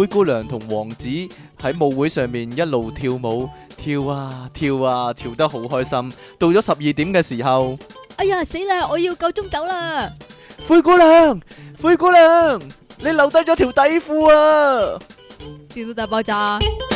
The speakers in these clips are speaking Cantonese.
灰姑娘同王子喺舞會上面一路跳舞，跳啊跳啊，跳得好開心。到咗12點嘅時候， 哎呀死啦！我要夠鐘走啦！ 灰姑娘，灰姑娘，你留低咗條底褲啊！ 電腦大爆炸。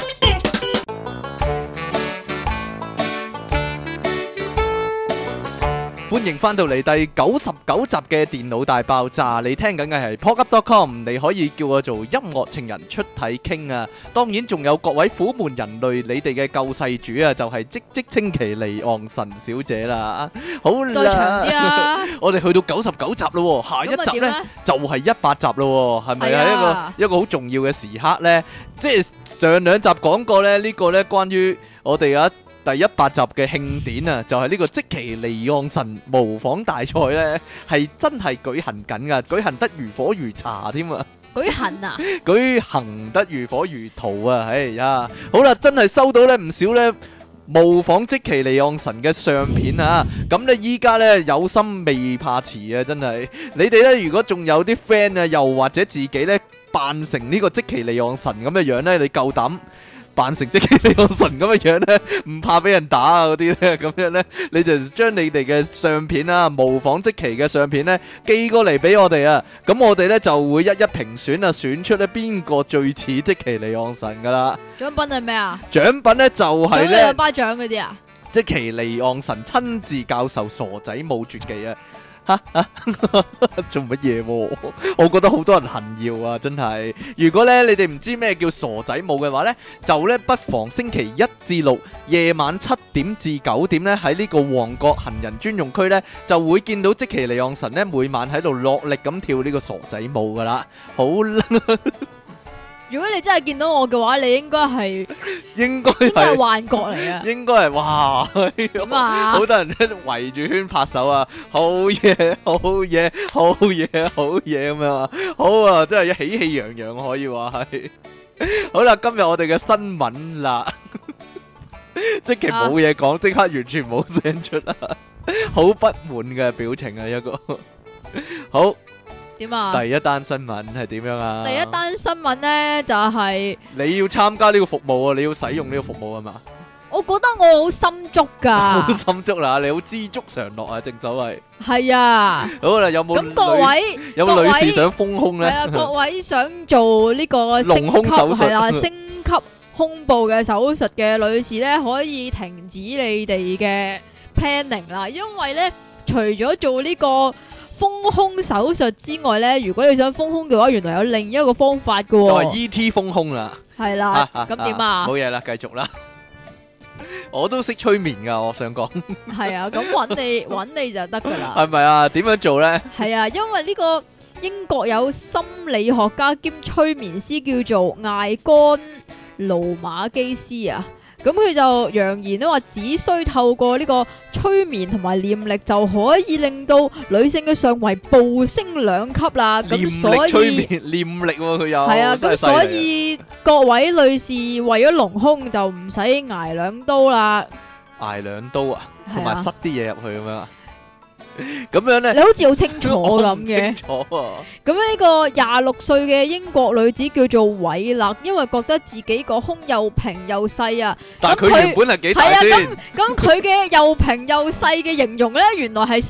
歡迎翻到嚟第99集嘅電腦大爆炸，你聽緊嘅係 PodUp.com， 你可以叫我做音樂情人出體傾啊！當然仲有各位苦悶人類，你哋嘅救世主啊，就係即稱其離岸神小姐啦！好再長啲啦， 啊！ 我哋去到99集咯，下一集呢就係100集咯，係咪係係啊一個好重要嘅時刻呢？即係上兩集講過呢，呢個呢關於我哋啊第100集嘅慶典啊，就係呢個積淇離岸神模仿大賽呢，係真係舉行緊噶，舉行得如火如茶添啊！ 舉行啊！ 舉行得如火如荼啊！哎呀，好啦，真係收到呢唔少呢模仿積淇離岸神嘅相片啊！咁呢依家呢有心未怕遲啊！真係，你哋呢如果仲有啲 friend 啊，又或者自己呢扮成呢個積淇離岸神咁嘅樣呢，你夠膽扮成積淇離岸神咁嘅樣呢，唔怕俾人打啊嗰啲呢，咁樣呢，你就將你哋嘅相片啊，模仿積淇嘅相片呢，寄過嚟俾我哋啊，咁我哋呢就會一一評選啊，選出呢邊個最似積淇離岸神噶啦。 獎品係咩啊？ 獎品呢就係呢獎兩巴掌嗰啲啊？ 積淇離岸神親自教授傻仔舞絕技啊！做乜嘢喎？我覺得好多人恨要啊，真係。如果咧你哋唔知咩叫傻仔舞嘅話呢，就咧不妨星期1至6夜晚7點至9點咧喺呢個旺角行人專用區呢，就會見到積淇離岸神呢每晚喺度落力咁跳呢個傻仔舞噶啦。好啦， 如果你真係見到我嘅話，你應該係應該係係。 幻覺嚟啊！ 應該係哇， 點啊好多人喺度圍住圈拍手啊！好嘢，好嘢，好嘢，好嘢咁樣啊！好啊，真係喜氣洋洋可以話係。好啦，今日我哋嘅新聞啦，即其冇嘢講，即刻完全冇聲出啦，好不滿嘅表情啊一個。好， 點啊？ 第一單新聞係點樣啊？ 第一單新聞呢，就係你要參加呢個服務啊，你要使用呢個服務啊嘛。 我覺得我好心足㗎。 好心足啦，你好知足常樂啊，正所謂。 係啊。 好啦，有冇咁各位有冇女士想豐胸咧？ 係啊，各位想做呢個升級隆胸手術係啦，升級胸部嘅手術嘅女士咧，可以停止你哋嘅 planning 啦，因為咧除咗做呢個豐胸手術之外咧，如果你想豐胸嘅話，原來有另一個方法嘅就喎。 係 E.T. 豐胸啦。 係啦，咁點啊？ 冇嘢啦，繼續啦。我都識催眠噶，我想講。 係啊，咁揾你就得噶啦。 係咪啊？點樣做咧？ 係啊，因為呢個英國有心理學家兼催眠師叫做艾干盧馬基斯啊，咁佢就揚言咧話，只需透過呢個催眠同埋念力就可以令到女性嘅上圍暴升2級啦。咁所以催眠念力佢有係啊，咁所以各位女士為咗隆胸就唔使挨2刀啦， 挨2刀啊，同埋係啊塞啲嘢入去咁樣啊。咁樣咧， 你好似好清楚我咁嘅唔清。楚啊。 咁呢個26歲嘅英國女子叫做韋勒，因為覺得自己個胸又平又細啊， 但係佢原本係幾大係啊， 先？ 咁佢嘅又平又細嘅形容咧，原來係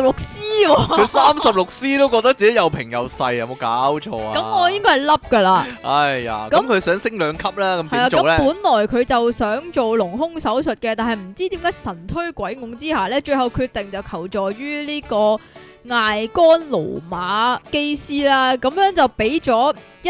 36C 喎。 佢36C 都覺得自己又平又細，有冇搞錯啊？ 咁我應該係凹噶啦。 哎呀， 咁咁佢想升2級啦，咁係啊，咁點做咧？ 本來佢就想做隆胸手術嘅，但係唔知點解神推鬼拱之下咧，最後決定就求助於呢個艾干盧馬基斯啦，咁樣就俾咗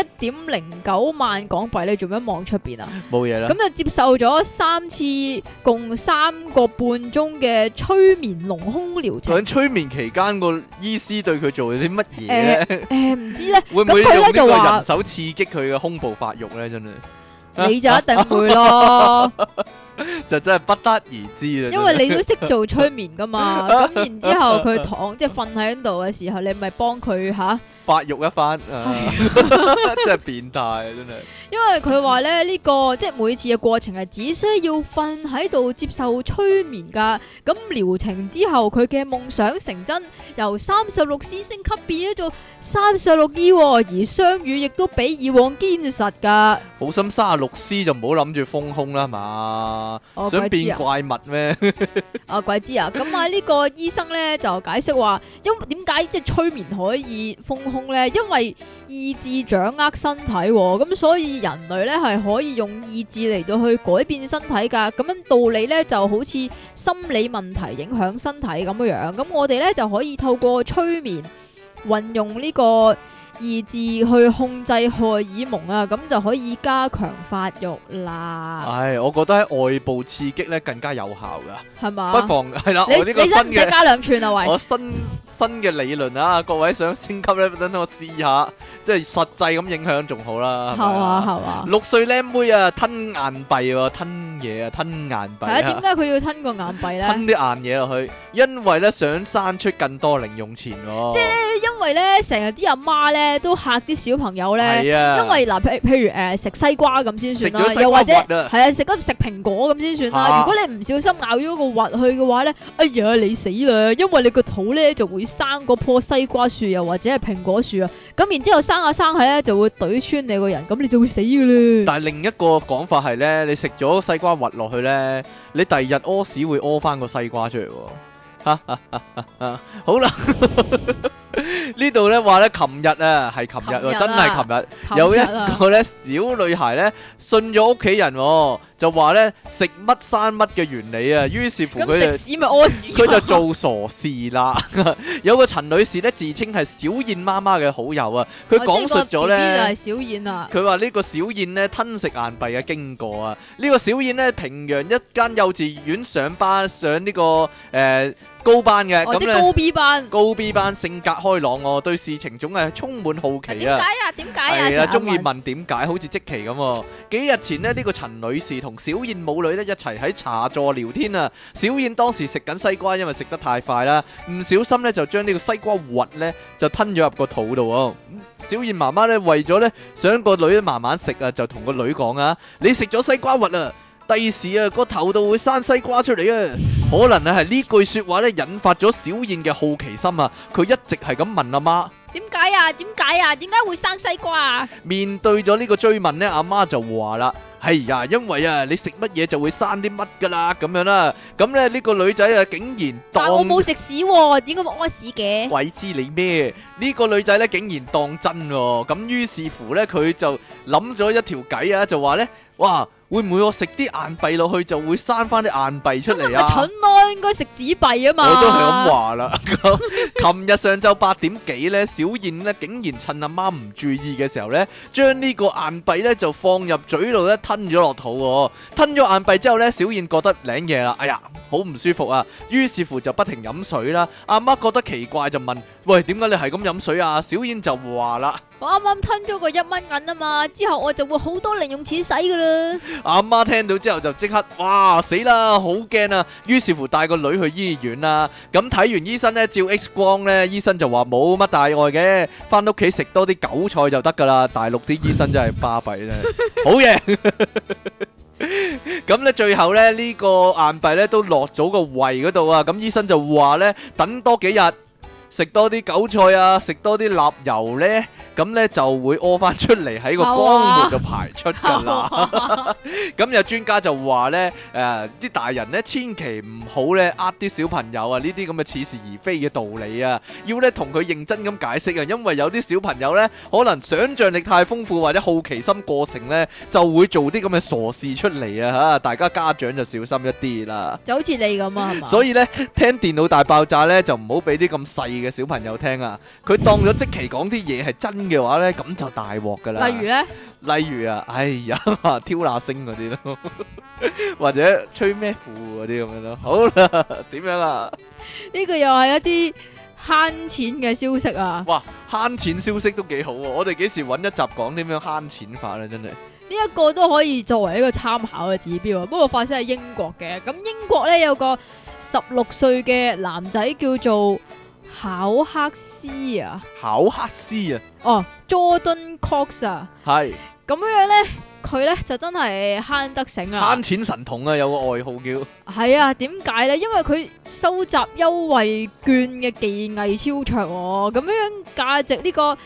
1.09萬港幣。你做咩望出邊啊？ 冇嘢啦咁。就接受咗3次共3個半鐘嘅催眠隆胸療程。 喺催眠期間，個醫師對佢做咗啲乜嘢咧？ 唔知咧， 會唔會咁佢用呢個咧就話人手刺激佢嘅胸部發育咧？真係你就一定會咯， 就真係不得而知啦。 因為你都識做催眠噶嘛。咁然之後佢即係瞓喺度嘅時候，你咪幫佢發育一番，真係變態啊！真係。 因為佢話咧呢個即係每次嘅過程係只需要瞓喺度接受催眠噶，咁療程之後佢嘅夢想成真，由36C 升級變咗做36E，而雙語亦都比以往堅實噶。 好心36C 就唔好諗住豐胸啦，係嘛？想變怪物咩？ 鬼知啊！咁啊呢個醫生咧就解釋話，點解即係催眠可以豐胸咧？因為意志掌握身體，咁所以人類咧係可以用意志嚟到去改變身體噶。咁樣道理咧就好似心理問題影響身體咁樣。咁我哋咧就可以透過催眠運用呢個意志去控制荷爾蒙啊，咁就可以加強發育啦。 唉，我覺得喺外部刺激咧更加有效噶， 係嘛？ 不妨係啦， 你我呢個新使唔使嘅加2寸啊？喂， 我新嘅理論啊，各位想升級咧，等我試下，即係實際咁影響仲好啦。 係啊係啊 ，6歲靚妹啊，吞硬幣喎，吞嘢啊，吞硬幣啊。 係啊，點解佢要吞個硬幣咧？ 吞啲硬嘢落去，因為咧想生出更多零用錢喎。 即係因為咧成日啲阿媽咧都嚇啲小朋友咧， 係啊， 因為嗱譬如食西瓜咁先算啦， 食咗西瓜又或者核啊係啊食蘋果咁先算啦。如果你唔小心咬咗個核去嘅話咧，哎呀你死啦！因為你個肚咧就會生嗰棵西瓜樹又或者係蘋果樹啊，咁然之後生下下咧就會懟穿你個人，咁你就會死噶啦。 但係另一個講法係咧，你食咗西瓜核落去咧，你第二日屙屎會屙翻個西瓜出嚟喎。好啦，呢度咧話咧，琴日啊，係琴日喎，真係琴日，有一個咧小女孩咧信咗屋企人喎，就話咧食乜生乜嘅原理啊，於是乎咁食屎咪屙屎， 佢就做傻事啦。有個陳女士咧自稱係小燕媽媽嘅好友啊，佢講述咗咧， 就係小燕啊。 佢話呢個小燕咧吞食硬幣嘅經過啊，呢個小燕咧平陽一間幼稚園上班上呢個高班嘅，咁咧高 B 班， 高 B 班性格開朗喎，對事情總係充滿好奇啊！ 點解啊？點解啊？ 係啊，中意問點解，好似積淇咁。幾日前呢，呢個陳女士同小燕母女咧一齊喺茶座聊天啊。小燕當時食緊西瓜，因為食得太快啦，唔小心咧就將呢個西瓜核咧就吞咗入個肚度啊。小燕媽媽咧為咗咧想個女慢慢食啊，就同個女講啊：你食咗西瓜核啊！第時啊，個頭度會生西瓜出嚟啊！可能係呢句說話咧引發咗小燕嘅好奇心啊！佢一直係咁問阿媽： 點解啊？點解啊？點解會生西瓜啊？ 面對咗呢個追問呢，阿媽就話啦：係呀，因為啊，你食乜嘢就會生啲乜噶啦，咁樣啦。咁咧呢個女仔啊，竟然但我冇食屎喎，點解冇屙屎嘅？ 鬼知你咩？呢個女仔咧竟然當真喎，咁於是乎咧佢就諗咗一條計啊，就話咧：哇！會唔會我食啲硬幣落去就會生翻啲硬幣出嚟啊？ 咁咪蠢咯，應該食紙幣啊嘛。 我都係咁話啦。琴日上晝8點幾咧，小燕咧竟然趁阿媽唔注意嘅時候咧，將呢個硬幣咧就放入嘴度咧吞咗落肚喎。吞咗硬幣之後咧，小燕覺得領嘢啦，哎呀，好唔舒服啊。於是乎就不停飲水啦。阿媽覺得奇怪就問：喂，點解你係咁飲水啊？小燕就話啦： 我啱啱吞咗個1蚊銀啊嘛，之後我就會好多零用錢使噶啦。 阿媽聽到之後就即刻，哇，死啦，好驚啊！於是乎帶個女去醫院啦。咁睇完醫生呢，照 X 光呢，醫生就話冇乜大礙嘅，翻屋企食多啲韭菜就得噶啦。大陸啲醫生真係巴閉咧，好嘢。咁咧最後咧呢個硬幣咧都落咗個胃嗰度啊。咁醫生就話咧等多幾日。食多啲韭菜啊，食多啲臘油呢，咁呢就會屙翻出嚟喺個肛門度排出噶啦。咁有專家就話呢，啲大人呢千祈唔好呢呃啲小朋友啊，呢啲咁嘅似是而非嘅道理啊，要呢同佢認真咁解釋啊，因為有啲小朋友呢可能想像力太豐富或者好奇心過盛呢，就會做啲咁嘅傻事出嚟啊嚇！大家家長就小心一啲啦。就好似你咁啊，係嘛？所以呢，聽電腦大爆炸呢，就唔好俾啲咁細嘅小朋友聽啊！佢當咗積淇講啲嘢係真嘅話咧，咁就大鑊噶啦。例如咧，例如啊，哎呀，挑那星嗰啲咯，或者吹咩褲嗰啲咁樣咯。好啦，點樣啊？呢個又係一啲慳錢嘅消息啊！哇，慳錢消息都幾好喎！我哋幾時揾一集講點樣慳錢法咧？真係呢一個都可以作為一個參考嘅指標啊！不過發生喺英國嘅，咁英國咧有個16歲嘅男仔叫做考克斯啊， 考克斯啊， 哦，Jordan Cox 啊， 係咁樣咧，佢咧就真係慳得醒啊！ 慳錢神童啊，有個外號叫係啊，點解咧？因為佢收集優惠券嘅技藝超卓喎，咁樣價值呢個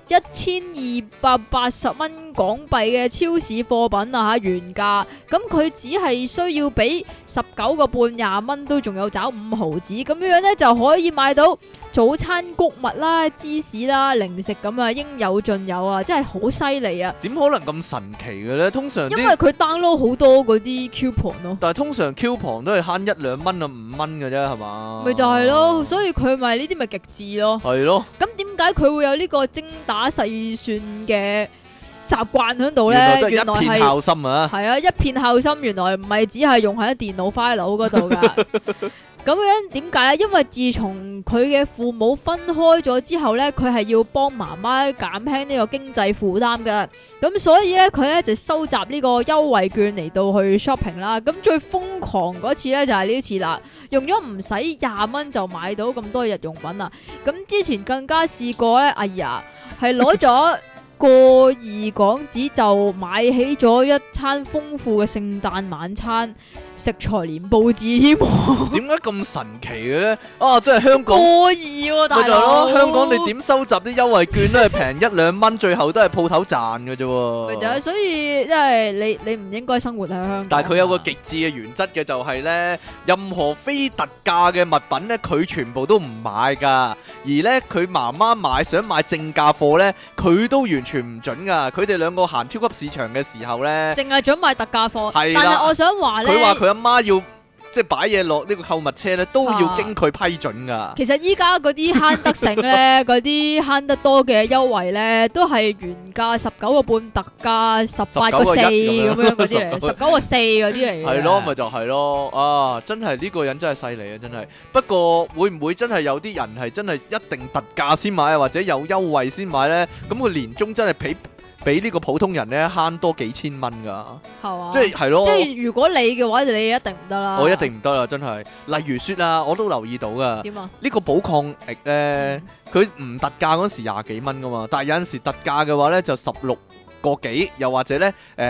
1280蚊港幣嘅超市貨品啊嚇原價，咁佢只係需要俾19個半20蚊都仲有找5毫子，咁樣咧就可以買到早餐穀物啦、芝士啦、零食咁啊，應有盡有啊，真係好犀利啊！ 點可能咁神奇嘅咧？通常啲， 因為佢 download 好多嗰啲 coupon 咯， 但係通常 coupon 都係慳1-2蚊啊5蚊嘅啫，係嘛？ 咪就係咯，所以佢咪呢啲咪極致咯。 係咯， 咁點解佢會有呢個精打細算嘅習慣喺度咧？ 原來都係原來一片孝心啊！ 係啊，一片孝心，原來唔係只係用喺電腦 file 嗰度噶。咁樣點解咧？因為自從佢嘅父母分開咗之後咧，佢係要幫媽媽減輕呢個經濟負擔嘅。咁所以咧，佢咧就收集呢個優惠券嚟到去 shopping 啦。咁最瘋狂嗰次咧就係呢次啦，用咗唔使20蚊就買到咁多日用品啊！咁之前更加試過咧，哎呀，係攞咗過2港紙就買起咗一餐豐富嘅聖誕晚餐，食材連報紙添。 點解咁神奇嘅咧？啊，真係香港。 過2喎，大咪就係佬。 咯，香港你點收集啲優惠券都係平1-2蚊，最後都係鋪頭賺嘅啫喎。 咪就係，所以即係你唔應該生活喺香港。 但係佢有個極致嘅原則嘅，就係咧，任何非特價嘅物品咧，佢全部都唔買噶。而咧，佢媽媽想買正價貨咧，佢都完全唔準噶。佢哋兩個行超級市場嘅時候咧， 淨係準買特價貨。 係啦但係我想話咧， 佢話佢阿媽要即係擺嘢落呢個購物車咧，都要經佢批准噶。 其實依家嗰啲慳得醒咧，嗰啲慳得多嘅優惠咧，都係原價19個半，特價18個4咁樣嗰啲嚟，19個4嗰啲嚟嘅。 係咯，咪就係咯，啊，真係呢個人真係犀利啊，真係。不過會唔會真係有啲人係真係一定特價先買啊，或者有優惠先買咧？咁佢年終真係比呢個普通人咧慳多幾千蚊噶， 係嘛？ 即係咯。 即係如果你嘅話，你一定唔得啦。 我一定唔得啦，真係。例如說啊，我都留意到噶。 點啊？ 呢個寶礦力咧，佢唔特價嗰時20幾蚊噶嘛，但係有陣時特價嘅話咧就16個幾，又或者咧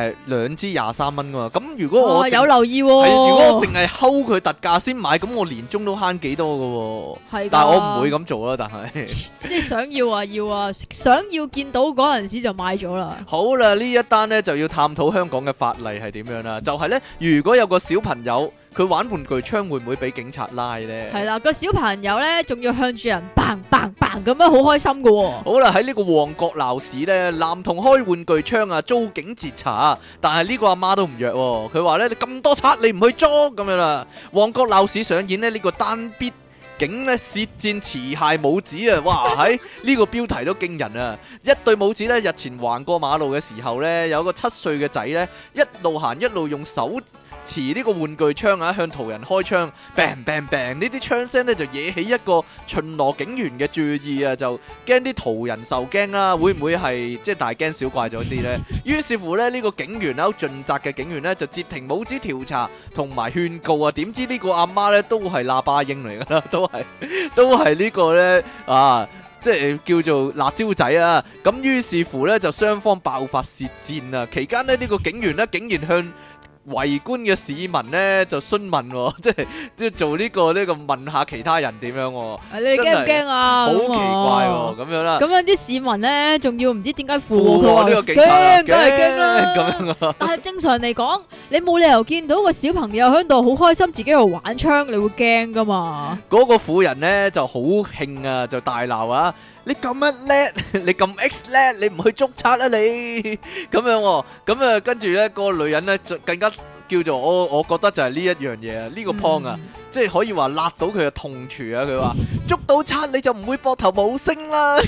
2支23蚊噶嘛。咁如果我有留意喎， 如果我淨係睺佢特價先買，咁我年終都慳幾多噶喎。 係， 但係我唔會咁做啦，但係即係想要啊要啊，想要見到嗰陣時就買咗啦。 好啦，呢一單呢就要探討香港嘅法例係點樣啦。就係呢，如果有個小朋友佢玩玩具槍，會唔會俾警察拉呢？ 係啦，個小朋友呢仲要向住人砰砰砰咁樣，好開心噶喎。 好啦，喺呢個旺角鬧市呢，男童開玩具槍啊，遭警截查，但係呢個阿媽都唔弱喎。佢話呢，你咁多賊，你唔去捉咁樣啦。旺角鬧市上演呢個單必警呢舌戰持械母子啊！哇，喺呢個標題都驚人啊！一對母子呢，日前橫過馬路嘅時候呢，有個7歲嘅仔呢，一路行一路用手持呢個玩具槍啊，向途人開槍，bang bang bang，呢啲槍聲呢就惹起一個巡邏警員嘅注意啊，就驚啲途人受驚啦，會唔會係即係大驚小怪咗啲呢？於是乎呢，呢個警員好盡責嘅警員呢，就截停母子調查同埋勸告啊，點知呢個阿媽呢，都係喇叭英嚟噶啦，都係呢個呢，啊，即係叫做辣椒仔啊！咁於是乎呢，就雙方爆發舌戰啊！期間呢，呢個警員呢，竟然向圍觀嘅市民呢就詢問，即係做呢個問下其他人點樣喎？ 你哋驚唔驚啊？ 好奇怪喎，咁樣啦。 咁樣啲市民呢，仲要唔知點解附和呢個警察， 驚，梗係驚啦。 咁樣啊。 但係正常嚟講，你冇理由見到個小朋友喺度好開心，自己喺度玩槍，你會驚噶嘛？ 嗰個婦人呢就好興啊，就大鬧啊！你咁乜叻，你咁 X 叻，你唔去捉賊啊你？咁樣喎，咁啊跟住咧，嗰個女人咧就更加叫做我覺得就係呢一樣嘢啊，呢個 point 啊，即係可以話辣到佢嘅痛處啊！佢話捉到賊你就唔會膊頭冇聲啦。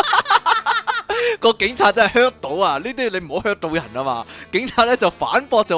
個警察真係 hurt 到啊！呢啲你唔好 hurt 到人啊嘛！警察咧就反駁就話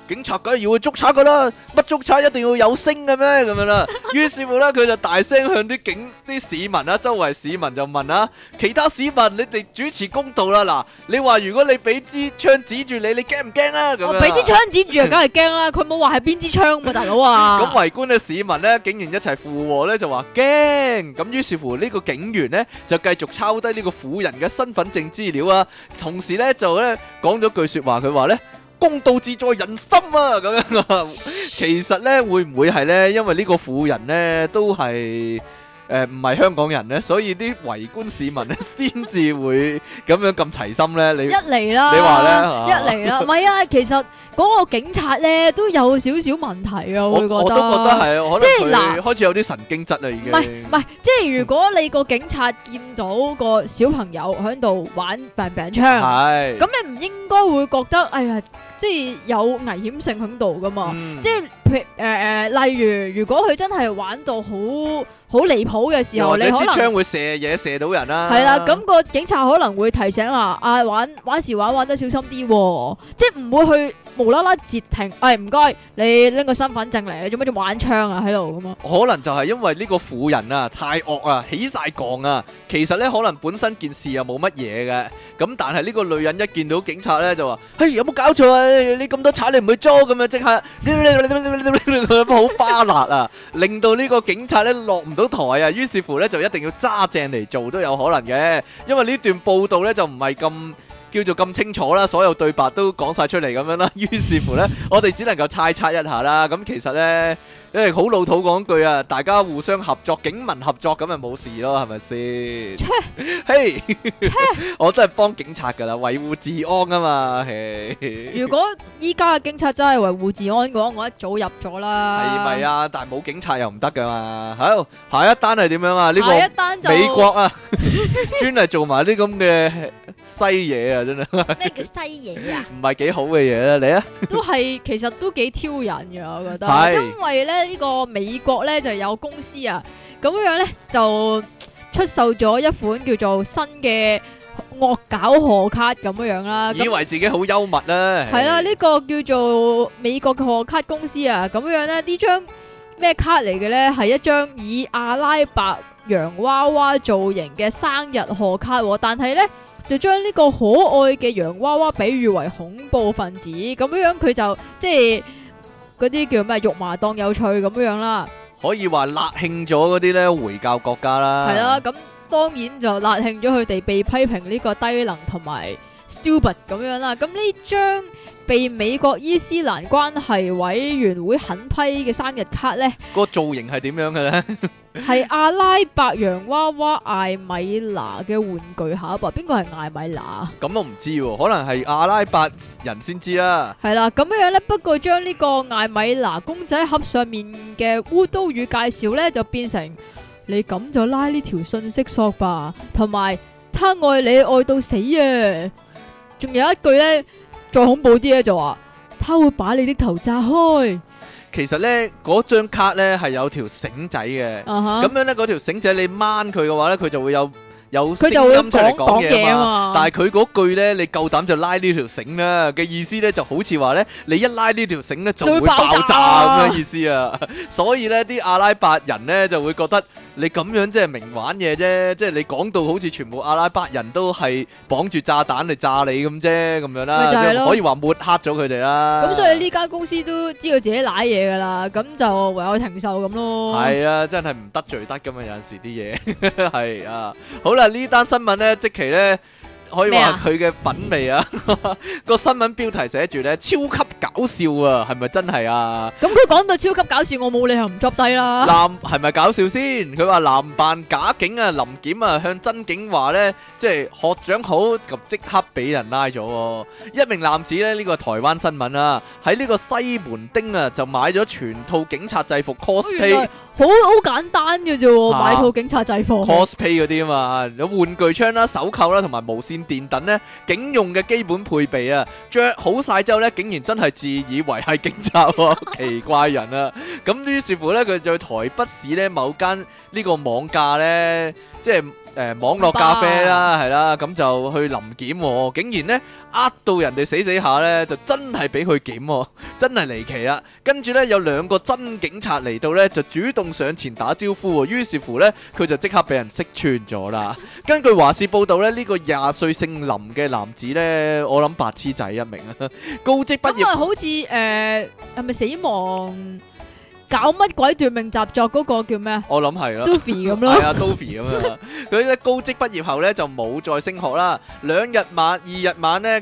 警察梗係要去捉賊噶啦，乜捉賊一定要有聲嘅咩？咁樣啦。於是乎咧，佢就大聲向啲市民啊，周圍市民就問啊，其他市民你哋主持公道啦。嗱，你話如果你俾支槍指住你驚唔驚啊？咁樣我俾支槍指住啊，梗係驚啦！佢冇話係邊支槍嘛，大佬啊！ 咁圍觀嘅市民咧，竟然一齊附和咧，就話驚。咁於是乎呢個警員咧就繼續抄低呢個婦人嘅身份證資料啊，同時咧就咧講咗句說話，佢話咧公道自在人心啊，咁樣啊。其實咧會唔會係咧，因為呢個婦人咧都係唔係香港人咧，所以啲圍觀市民咧先至會咁樣咁齊心咧？你一嚟啦， 你話咧一嚟啦，唔係啊，其實嗰個警察咧都有少少問題啊，我會覺得。 我都覺得係，可即係能佢開始有啲神經質啦，已經。 唔係，即係如果你個警察見到個小朋友喺度玩病槍， 係咁你唔應該會覺得，哎呀，即係有危險性喺度噶嘛？即係例如，如果佢真係玩到好離譜嘅時候，你可能支槍會射嘢射到人啦。 係啦，咁個警察可能會提醒啊，玩時玩得小心啲，即係唔會去無啦啦截停。唔該，你拎個身份證嚟，你做乜仲玩槍啊喺度咁啊？ 可能就係因為呢個婦人啊太惡啊，起晒槓啊。其實咧可能本身件事又冇乜嘢嘅，咁但係呢個女人一見到警察咧就話：嘿，有冇搞錯啊？你咁多賊你唔去捉咁樣，即刻好巴辣啊，令到呢個警察咧落唔到台啊。於是乎咧就一定要揸正嚟做都有可能嘅，因為呢段報道咧就唔係咁叫做咁清楚啦，所有對白都講晒出嚟咁樣啦。於是乎咧，我哋只能夠猜測一下啦。咁其實咧，因為好老土講句啊，大家互相合作，警民合作咁咪冇事咯，係咪先？嘿，我都係幫警察噶啦，維護治安啊嘛。 如果依家嘅警察真係維護治安嘅話，我一早入咗啦。 係咪啊？但係冇警察又唔得噶嘛。好，下一單係點樣啊？呢下一單就個美國啊，專係做埋啲咁嘅西嘢啊，真係。 咩叫西嘢啊？ 唔係幾好嘅嘢啦，你啊？ 其實都幾挑人嘅，我覺得。 係因為咧呢個美國咧就有公司啊，咁樣咧就出售咗一款叫做新嘅惡搞賀卡咁樣啦。 以為自己好幽默啦。 係啦，呢個叫做美國嘅賀卡公司啊，咁樣咧呢張咩卡嚟嘅咧？係一張以阿拉伯洋娃娃造型嘅生日賀卡，但係咧就將呢個可愛嘅洋娃娃比喻為恐怖分子，咁樣佢就即係嗰啲叫咩肉麻當有趣咁樣啦。 可以話辣慶咗嗰啲咧回教國家啦。 係啦，咁當然就辣慶咗佢哋被批評呢個低能同埋 stupid 咁樣啦。咁呢張被美國伊斯蘭關係委員會狠批嘅生日卡呢， 個造型係點樣嘅咧？ 係阿拉伯洋娃娃艾米娜嘅玩具盒啊！邊個係艾米娜？ 咁我唔知喎，可能係阿拉伯人先知啦。 係啦，咁樣呢，不過將呢個艾米娜公仔盒上面嘅污刀語介紹呢，就變成你咁就拉呢條信息索吧，同埋他愛你愛到死啊！仲有一句呢，再恐怖啲咧，就話他會把你的頭炸開。 其實咧，嗰張卡咧係有條繩仔嘅，咁樣咧嗰條繩仔你掹佢嘅話咧，佢就會有聲音出嚟講嘢啊嘛。但係佢嗰句咧，你夠膽就拉呢條繩啦嘅意思咧，就好似話咧，你一拉呢條繩咧就會爆炸咁樣意思啊。所以咧，啲阿拉伯人咧就會覺得你咁樣即係明玩嘢啫，即係你講到好似全部阿拉伯人都係綁住炸彈嚟炸你咁啫，咁樣啦，就可以話抹黑咗佢哋啦。 咁所以呢間公司都知道自己瀨嘢噶啦，咁就唯有承受咁咯。 係啊，真係唔得罪得噶嘛，有陣時啲嘢係啊。好啦，呢單新聞咧，即期咧。可以話佢嘅品味啊！個新聞標題寫住咧超級搞笑啊，係咪真係啊？ 咁佢講到超級搞笑，我冇理由唔捉低啦。 男係咪搞笑先？佢話男扮假警啊，臨檢啊向真警話咧，即係學長好，咁即刻俾人拉咗。一名男子咧，呢個台灣新聞啊，喺呢個西門町啊就買咗全套警察制服 cosplay。 好簡單嘅啫，買套警察制服 cosplay 嗰啲啊嘛，有玩具槍啦、手扣啦同埋無線電等咧，警用嘅基本配備啊，着好晒之後咧，竟然真係自以為係警察喎，奇怪人啊！咁於是乎咧，佢就去台北市咧某間呢個網架咧，即係網絡咖啡啦，係啦，咁就去臨檢喎，竟然呢呃到人哋死死下呢，就真係俾佢檢喎，真係離奇啦。跟住呢，有2個真警察嚟到呢，就主動上前打招呼喎，於是乎呢，佢就即刻俾人識穿咗啦。根據華視報道呢，呢個20歲姓林嘅男子呢，我諗白痴仔一名啊，高職畢業。 咁啊，好似係咪死亡搞乜鬼奪命習作嗰個叫咩啊我諗係咯。 ？Doofy 咁咯。 係啊，Toby 咁樣啊，佢咧高職畢業後咧就冇再升學啦。2日晚咧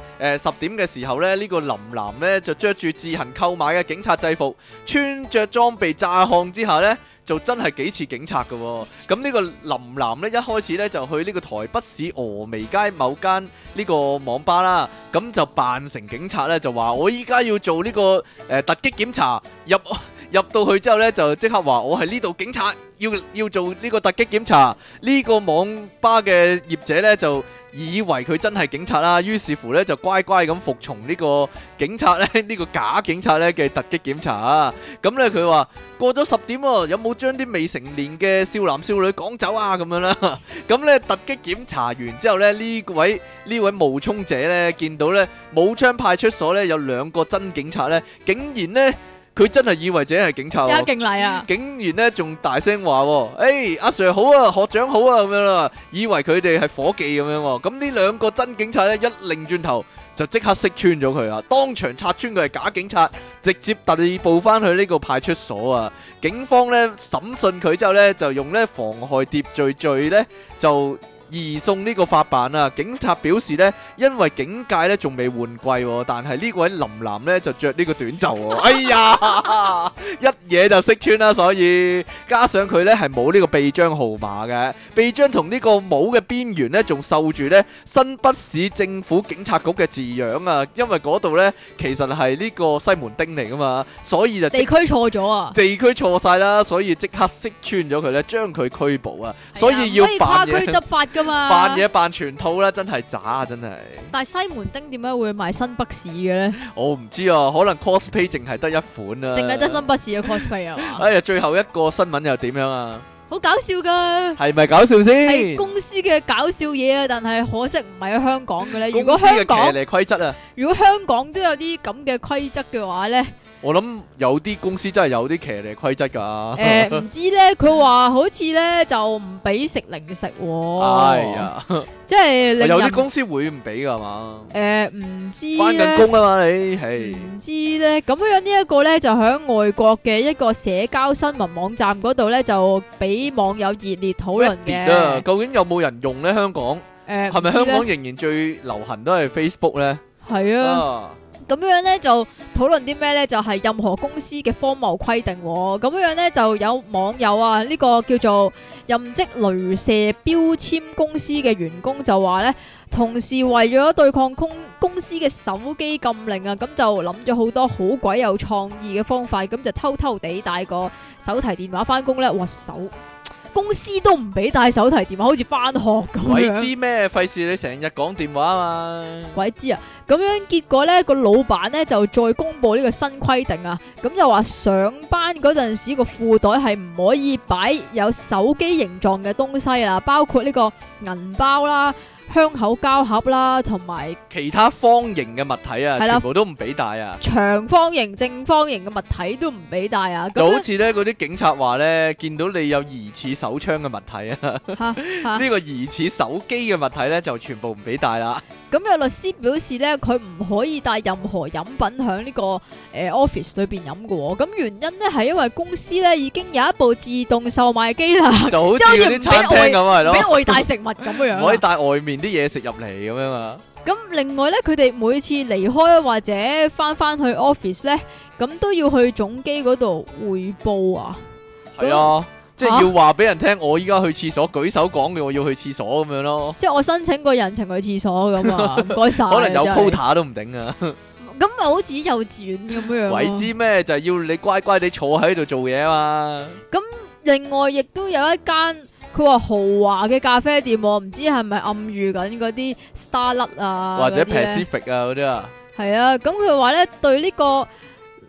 10點嘅時候咧，呢個林男咧就着住自行購買嘅警察制服，穿着裝備詐漢之下咧，就真係幾似警察㗎喎。咁呢個林男咧一開始咧就去呢個台北市峨眉街某間呢個網吧啦，咁就扮成警察咧，就話我依家要做呢個突擊檢查，入到去之後咧，就即刻話我係呢度警察，要做呢個突擊檢查。呢個網吧嘅業者咧就以為佢真係警察啦，於是乎咧就乖乖咁服從呢個警察咧，呢個假警察咧嘅突擊檢查啊。咁咧佢話過咗10點喎，有冇將啲未成年嘅少男少女趕走啊？咁樣啦。咁咧突擊檢查完之後咧，呢位冒充者咧見到咧武昌派出所咧有2個真警察咧，竟然咧佢真係以為自己係警察喎， 即刻敬禮啊！ 竟然咧仲大聲話喎，阿 Sir 好啊，學長好啊咁樣啦，以為佢哋係伙計咁樣喎。咁呢2個真警察咧一擰轉頭就即刻識穿咗佢啊，當場拆穿佢係假警察，直接逮捕翻去呢個派出所啊。警方咧審訊佢之後咧，就用咧妨害秩序罪咧就移送呢個法辦啊！警察表示呢，因為警戒呢仲未換季喎，但係呢位林男呢就着呢個短袖喎。哎呀，一嘢就識穿啦！所以加上佢呢係冇呢個臂章號碼嘅，臂章同呢個帽嘅邊緣呢仲繡住呢新北市政府警察局嘅字樣啊！因為嗰度呢其實係呢個西門町嚟噶嘛，所以就地區錯咗啊！ 地區錯晒啦，所以即刻識穿咗佢呢，將佢拘捕啊！所以要扮嘢。 可以跨區執法㗎嘛？ 扮嘢扮全套啦，真係渣啊！真係。 但係西門町點解會賣新北市嘅咧？ 我唔知啊，可能 cosplay 淨係得一款啊。 淨係得新北市嘅 cosplay 啊嘛？ 哎呀，最後一個新聞又點樣啊？ 好搞笑㗎！ 係咪搞笑先？ 係公司嘅搞笑嘢啊，但係可惜唔係喺香港嘅咧。如果公司嘅香港騎呢規則啊， 如果香港都有啲咁嘅規則嘅話咧， 我諗有啲公司真係有啲騎呢規則㗎。 唔知咧，佢話好似咧就唔俾食零食喎。 哎呀， 即係令人有啲公司會唔俾㗎嘛？ 唔知返緊咧。 工啊嘛，你係唔知咧，咁樣呢一個咧就喺外國嘅一個社交新聞網站嗰度咧，就俾網友熱烈討論 Reddit 啊， 嘅。 究竟有冇人用咧？香港係咪香港仍然最流行都係 Facebook 咧？ 係啊， 啊， 咁樣咧就討論啲咩咧？就係任何公司嘅荒謬規定喎。咁樣咧就有網友啊，呢個叫做任職鐳射標籤公司嘅員工就話咧，同事為咗對抗公司嘅手機禁令啊，咁就諗咗好多好鬼有創意嘅方法，咁就偷偷地帶個手提電話翻工咧。哇，公司都唔俾帶手提電話，好似翻學咁鬼樣。 知咩？費事你成日講電話啊嘛。 鬼知啊！咁樣結果呢個老闆呢就再公布呢個新規定啊，咁就話上班嗰陣時個褲袋係唔可以擺有手機形狀嘅東西啦，包括呢個銀包啦、香口膠盒啦，同埋其他方形嘅物體啊， 係啦全部都唔俾帶啊！ 長方形、正方形嘅物體都唔俾帶啊！ 就好咁似咧嗰啲警察話咧，見到你有疑似手槍嘅物體啊， 吓呢個疑似手機嘅物體咧就全部唔俾帶啦。 咁有律師表示咧，佢唔可以帶任何飲品響呢個office 裏邊飲嘅喎。咁原因咧係因為公司咧已經有一部自動售賣機啦， 就好似嗰啲餐廳咁係俾咯， 外帶食物咁樣唔可以啊。 帶外面啲嘢食入嚟咁樣啊。 咁另外咧，佢哋每次離開或者翻去 office 咧，咁都要去總機嗰度匯報啊。 係啊，即係要話俾人聽，我依家去廁所，舉手講嘅我要去廁所咁樣咯。 即係我申請個人情去廁所咁啊，唔該晒。 可能有真係 quota 都唔定啊。 咁咪好似幼稚園咁樣。 鬼知咩？就係要你乖乖地坐喺度做嘢啊嘛。 另外亦都有一間佢話豪華嘅咖啡店喎，唔知係咪暗喻緊嗰啲 Starlet 啊， 或者嗰啲呢 Pacific 啊嗰啲啊。 係啊，咁佢話咧對呢個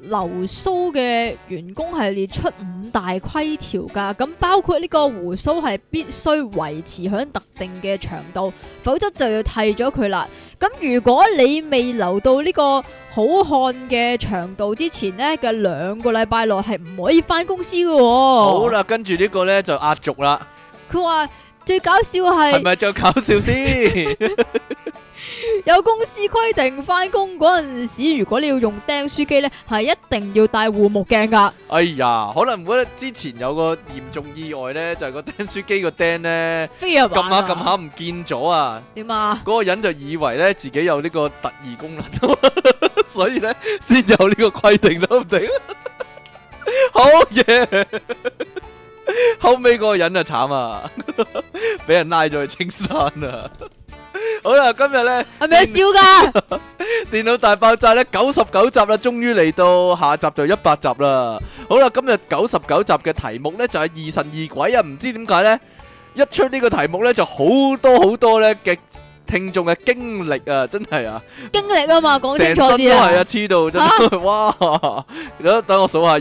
留鬚嘅員工係列出5大規條㗎，咁包括呢個鬍鬚係必須維持響特定嘅長度，否則就要剃咗佢啦。咁如果你未留到呢個好漢嘅長度之前呢嘅2個禮拜內係唔可以翻公司嘅喎。 好啦，跟住呢個呢就壓軸啦。 佢話最搞笑係咪最搞笑先？ 有公司規定翻工嗰陣時，如果你要用釘書機呢，係一定要戴護目鏡噶。 哎呀，可能我覺得之前有個嚴重意外呢，就係個釘書機個釘呢， 飛入撳下撳下唔見咗啊！ 點啊？ 嗰個人就以為呢自己有呢個特異功能，所以呢先有呢個規定都唔定。好嘢！後尾嗰個人啊慘啊，俾人拉咗去青山啊！好啦，今日咧係咪有笑噶？ 電腦大爆炸咧99集啦，終於嚟到，下集就100集啦。好啦，今日99集嘅題目咧就係疑神疑鬼啊！唔知點解咧，一出呢個題目咧就好多咧嘅聽眾嘅經歷啊，真係啊， 經歷啊嘛，講清楚成身啲啊！ 都係啊，黐到真係哇！等我數下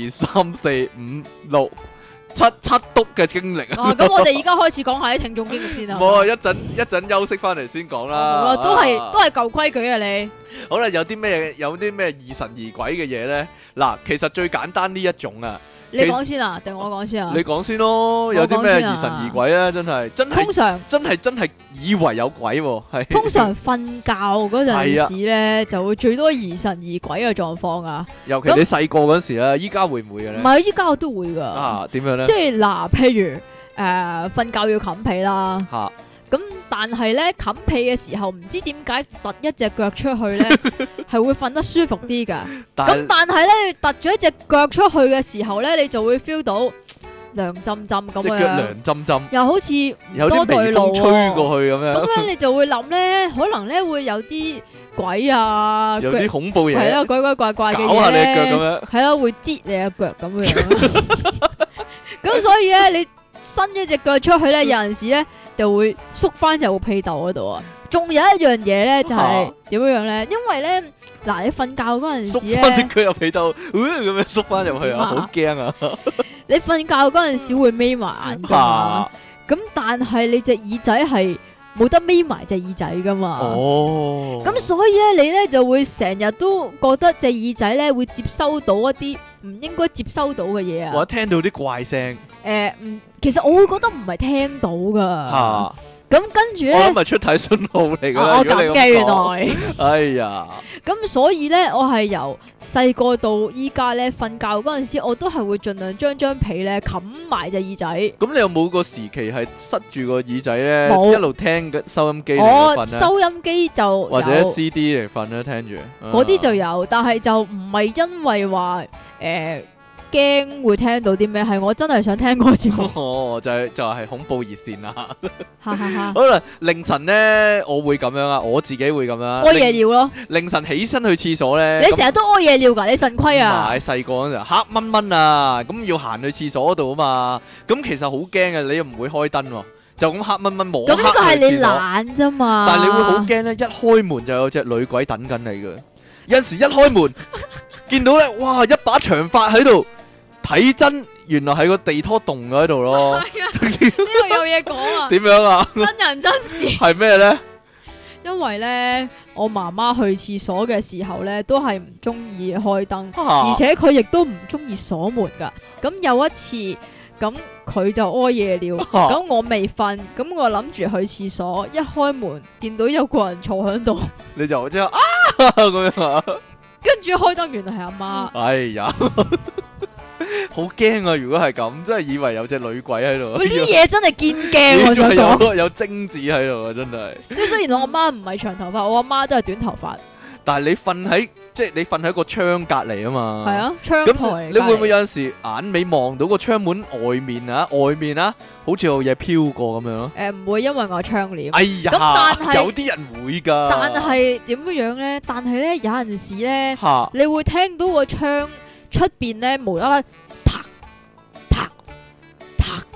1、2、3、4、5、6、七篤嘅經歷啊！ 咁我哋而家開始講下啲聽眾經歷先啊！ 冇啊，一陣休息翻嚟先講啦。 好啦，都係舊規矩啊！你好啦，有啲咩疑神疑鬼嘅嘢咧？嗱，其實最簡單呢一種啊， 你講先啊，定我講先啊？ 你講先咯。有啲咩疑神疑鬼咧？真係真係以為有鬼喎，係通常瞓覺嗰陣時咧，就會最多疑神疑鬼嘅狀況啊。 尤其你細個嗰時啊，依家會唔會嘅咧？ 唔係，依家我都會噶。 啊，點樣咧？ 即係嗱，譬如瞓覺要冚被啦。 嚇！ 咁但係咧冚被嘅時候，唔知點解突一隻腳出去咧，係會瞓得舒服啲噶。咁但係咧，你突咗一隻腳出去嘅時候咧，你就會 feel 到涼浸浸咁樣， 隻腳涼浸浸， 又好似有啲微風吹過去咁樣。 咁樣你就會諗咧，可能咧會有啲鬼啊， 有啲恐怖嘢， 係啦，鬼鬼怪怪嘅嘢， 搞下你隻腳咁樣， 係啦，會擠你隻腳咁樣。咁所以咧，你伸一隻腳出去咧，有陣時咧就會縮翻入個被竇嗰度啊。仲有一樣嘢咧，就係點樣咧？因為咧，嗱，你瞓覺嗰陣時咧， 縮翻隻腳入被竇，咁樣縮翻入去啊，好驚啊！ 你瞓覺嗰陣時會眯埋眼噶，咁但係你隻耳仔係冇得眯埋隻耳仔噶嘛？ 哦， 咁所以咧，你咧就會成日都覺得隻耳仔咧會接收到一啲唔應該接收到嘅嘢啊！ 或者聽到啲怪聲， 其實我會覺得唔係聽到噶。 吓， 咁跟住咧， 我諗係出體信號嚟噶。 我咁嘅原來， 哎呀， 咁所以咧，我係由細個到依家咧，瞓覺嗰陣時，我都係會盡量將被咧冚埋隻耳仔。 咁你有冇個時期係塞住個耳仔咧， 冇一路聽嘅收音機嚟瞓咧？ 收音機就或者 CD 嚟瞓咧，聽住嗰啲就有，但係就唔係因為話驚會聽到啲咩，係我真係想聽個節目。 哦，就係恐怖熱線啦。 哈哈哈！ 好啦，凌晨咧我會咁樣啊，我自己會咁樣。 屙夜尿咯。 凌晨起身去廁所咧， 你成日都屙夜尿噶，你腎虧啊？ 唔係細個嗰陣黑蚊蚊啊，咁要行去廁所嗰度啊嘛，咁其實好驚嘅，你又唔會開燈喎，就咁黑蚊蚊摸黑去廁所。咁呢個係你懶啫嘛。 但係你會好驚咧，一開門就有隻女鬼等緊你嘅。有陣時一開門見到咧，哇，一把長髮喺度。睇真，原來係個地拖洞喺度咯。呢個有嘢講啊！ 點樣啊？ 真人真事係咩咧？ 因為咧，我媽媽去廁所嘅時候咧，都係唔中意開燈，而且佢亦都唔中意鎖門噶。咁有一次，咁佢就屙夜尿，咁我未瞓，咁我諗住去廁所，一開門見到有個人坐喺度， 你就即係啊咁樣啊？ 跟住開燈，原來係阿媽。 哎呀！好驚啊！如果係咁，真係以為有隻女鬼喺度。 呢啲嘢真係堅驚，我想講。 有精子喺度啊！真係。 即係雖然我阿媽唔係長頭髮，我阿媽都係短頭髮。 但係你瞓喺個窗隔籬啊嘛。係啊， 窗台。 你會唔會有陣時眼尾望到個窗門外面啊？好似有嘢飄過咁樣咯。 唔會，因為我窗簾。 哎呀，咁但係有啲人會噶。 但係點樣咧？但係咧，有陣時咧，你會聽到個窗出邊咧無啦啦，嗒嗒嗒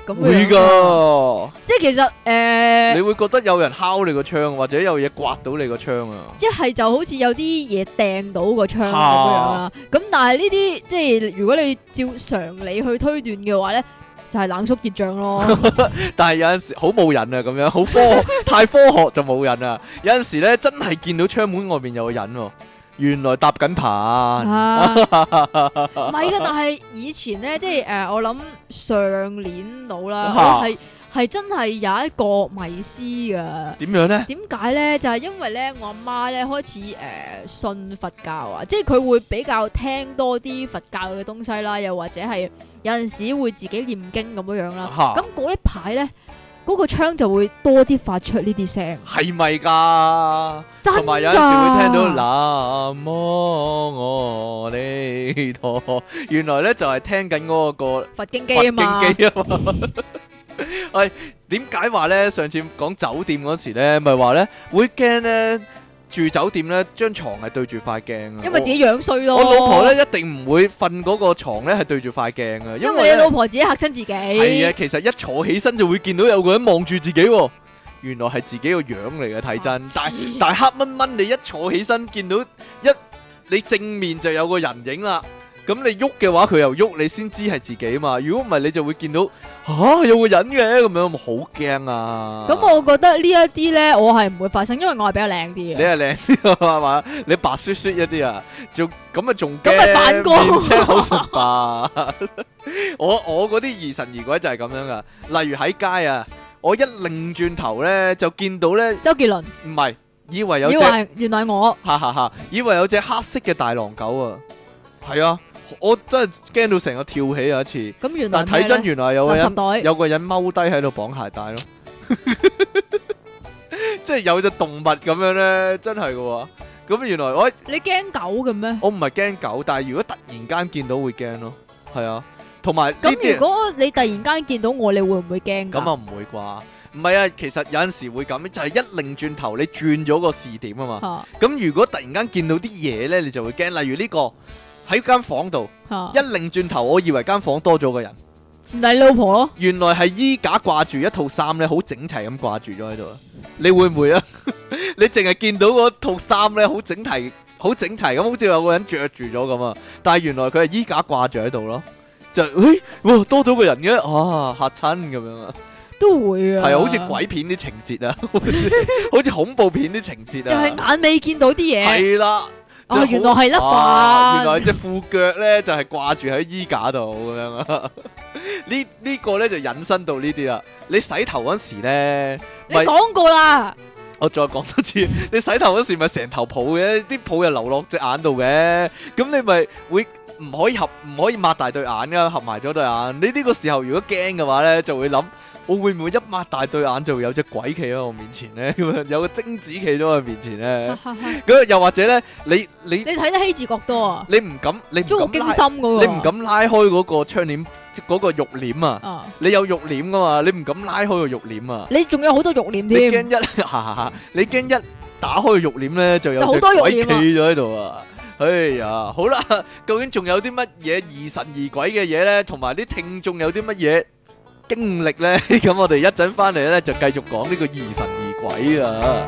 咁樣。 會㗎， 即係其實你會覺得有人敲你個窗，或者有嘢刮到你個窗啊。 一係就好似有啲嘢掟到個窗咁樣啦。咁但係呢啲即係如果你照常理去推斷嘅話咧，就係冷縮熱脹咯。 但係有陣時好冇癮啊，咁樣好太科學就冇癮啊。有陣時咧真係見到窗門外面有個人喎，原來搭緊棚。 唔係噶，但係以前咧，即係我諗上年到啦，我係真係有一個迷思噶。 點樣咧？ 點解咧？就係因為咧，我阿媽咧開始信佛教啊，即係佢會比較聽多啲佛教嘅東西啦，又或者係有陣時會自己念經咁樣樣啦。咁嗰一排咧，嗰個窗就會多啲發出呢啲聲。 係咪㗎？ 真㗎。 同埋有陣時會聽到南無阿彌陀，原來咧就係聽緊嗰個佛經機啊嘛。 佛經機啊嘛。喂，點解話咧？上次講酒店嗰時咧，咪話咧會驚咧住酒店咧張床係對住塊鏡啊。 因為自己樣衰咯。 我老婆咧一定唔會瞓嗰個床咧係對住塊鏡啊， 因為你老婆自己嚇親自己。 係啊，其實一坐起身就會見到有個人望住自己喎。原來係自己個樣嚟嘅，睇真。但係黑蚊蚊，你一坐起身見到你正面就有個人影啦。咁你喐嘅話，佢又喐，你先知係自己嘛。如果唔係，你就會見到有個人嘅咁樣，好驚啊！ 咁我覺得呢一啲咧，我係唔會發生，因為我係比較靚啲嘅。 你係靚啲係嘛？你白雪雪一啲啊，仲咁啊仲驚， 咁咪反光面青口唇白。我嗰啲疑神疑鬼就係咁樣噶。例如喺街啊，我一擰轉頭咧就見到咧， 周杰倫唔係，以為有隻， 原來我， 哈哈哈，以為有隻黑色嘅大狼狗啊，係啊。我真係驚到成個跳起有一次， 咁原來但睇真原來有個人踎低喺度綁鞋帶咯，即係有隻動物咁樣咧，真係噶。咁原來你驚狗嘅咩？ 我唔係驚狗，但係如果突然間見到會驚咯，係啊，同埋咁如果你突然間見到我，你會唔會驚？ 咁啊唔會啩？唔係啊，其實有陣時會咁，就係一擰轉頭你轉咗個視點啊嘛。咁如果突然間見到啲嘢咧，你就會驚。例如呢個。喺間房度，一擰轉頭，我以為間房多咗個人， 唔係你老婆咯？ 原來係衣架掛住一套衫咧，好整齊咁掛住咗喺度。你會唔會啊？你淨係見到嗰套衫咧，好整齊咁，好似有個人着住咗咁啊！但係原來佢係衣架掛住喺度咯，就哇多咗個人嘅，嚇親咁樣啊！ 都會啊， 係啊，好似鬼片啲情節啊，好似恐怖片啲情節啊， 就係眼尾見到啲嘢， 係啦。 原來係粒飯， 原來隻褲腳咧就係掛住喺衣架度咁樣啊！呢個咧就引申到呢啲啦。你洗頭嗰時咧， 你講過啦。 我再講多次，你洗頭嗰時咪成頭泡嘅，啲泡又流落隻眼度嘅，咁你咪會唔可以擘大對眼噶，合埋咗對眼。你呢個時候如果驚嘅話咧，就會諗。我會唔會一擘大對眼就會有隻鬼企喺我面前咧？咁樣有個貞子企咗我面前咧？咁又或者咧，你睇得希治閣多啊？ 你唔敢驚心嗰個， 你唔敢拉開嗰個窗簾，即嗰個肉簾啊！你有肉簾噶嘛？你唔敢拉開個肉簾啊！ 你仲有好多肉簾添？ 你驚一打開個肉簾咧，就有隻鬼企咗喺度啊！哎呀，好啦，究竟仲有啲乜嘢疑神疑鬼嘅嘢咧？同埋啲聽眾有啲乜嘢經歷咧，咁我哋一陣翻嚟咧就繼續講呢個疑神疑鬼啊！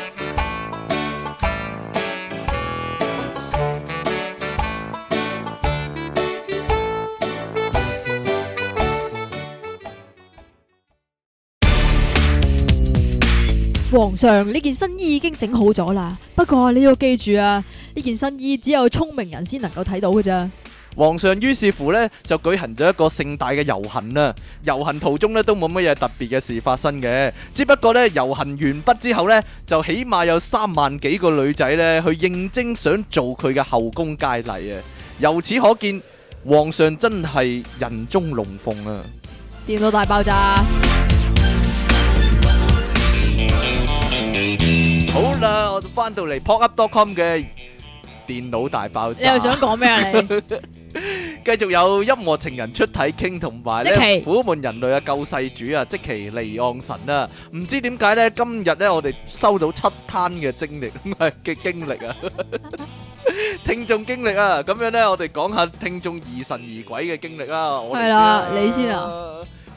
皇上，呢件新衣已經整好咗啦，不過你要記住啊，呢件新衣只有聰明人先能夠睇到嘅咋。 皇上於是乎呢，就舉行咗一個盛大嘅遊行啊！遊行途中呢，都冇乜嘢特別嘅事發生嘅，只不過呢，遊行完畢之後呢，就起碼有3萬幾個女仔呢去應徵想做佢嘅後宮佳麗啊！由此可見，皇上真係人中龍鳳啊！ 電腦大爆炸！ 好啦，我翻到嚟 popup.com 嘅電腦大爆炸。 你又想講咩啊？你繼續有音樂情人出體傾，同埋咧苦悶人類嘅救世主啊，積淇離岸神啊！唔知點解咧，今日咧我哋收到7攤嘅經歷啊，聽眾經歷啊，咁樣咧我哋講下聽眾疑神疑鬼嘅經歷啊。 係啦，你先啊。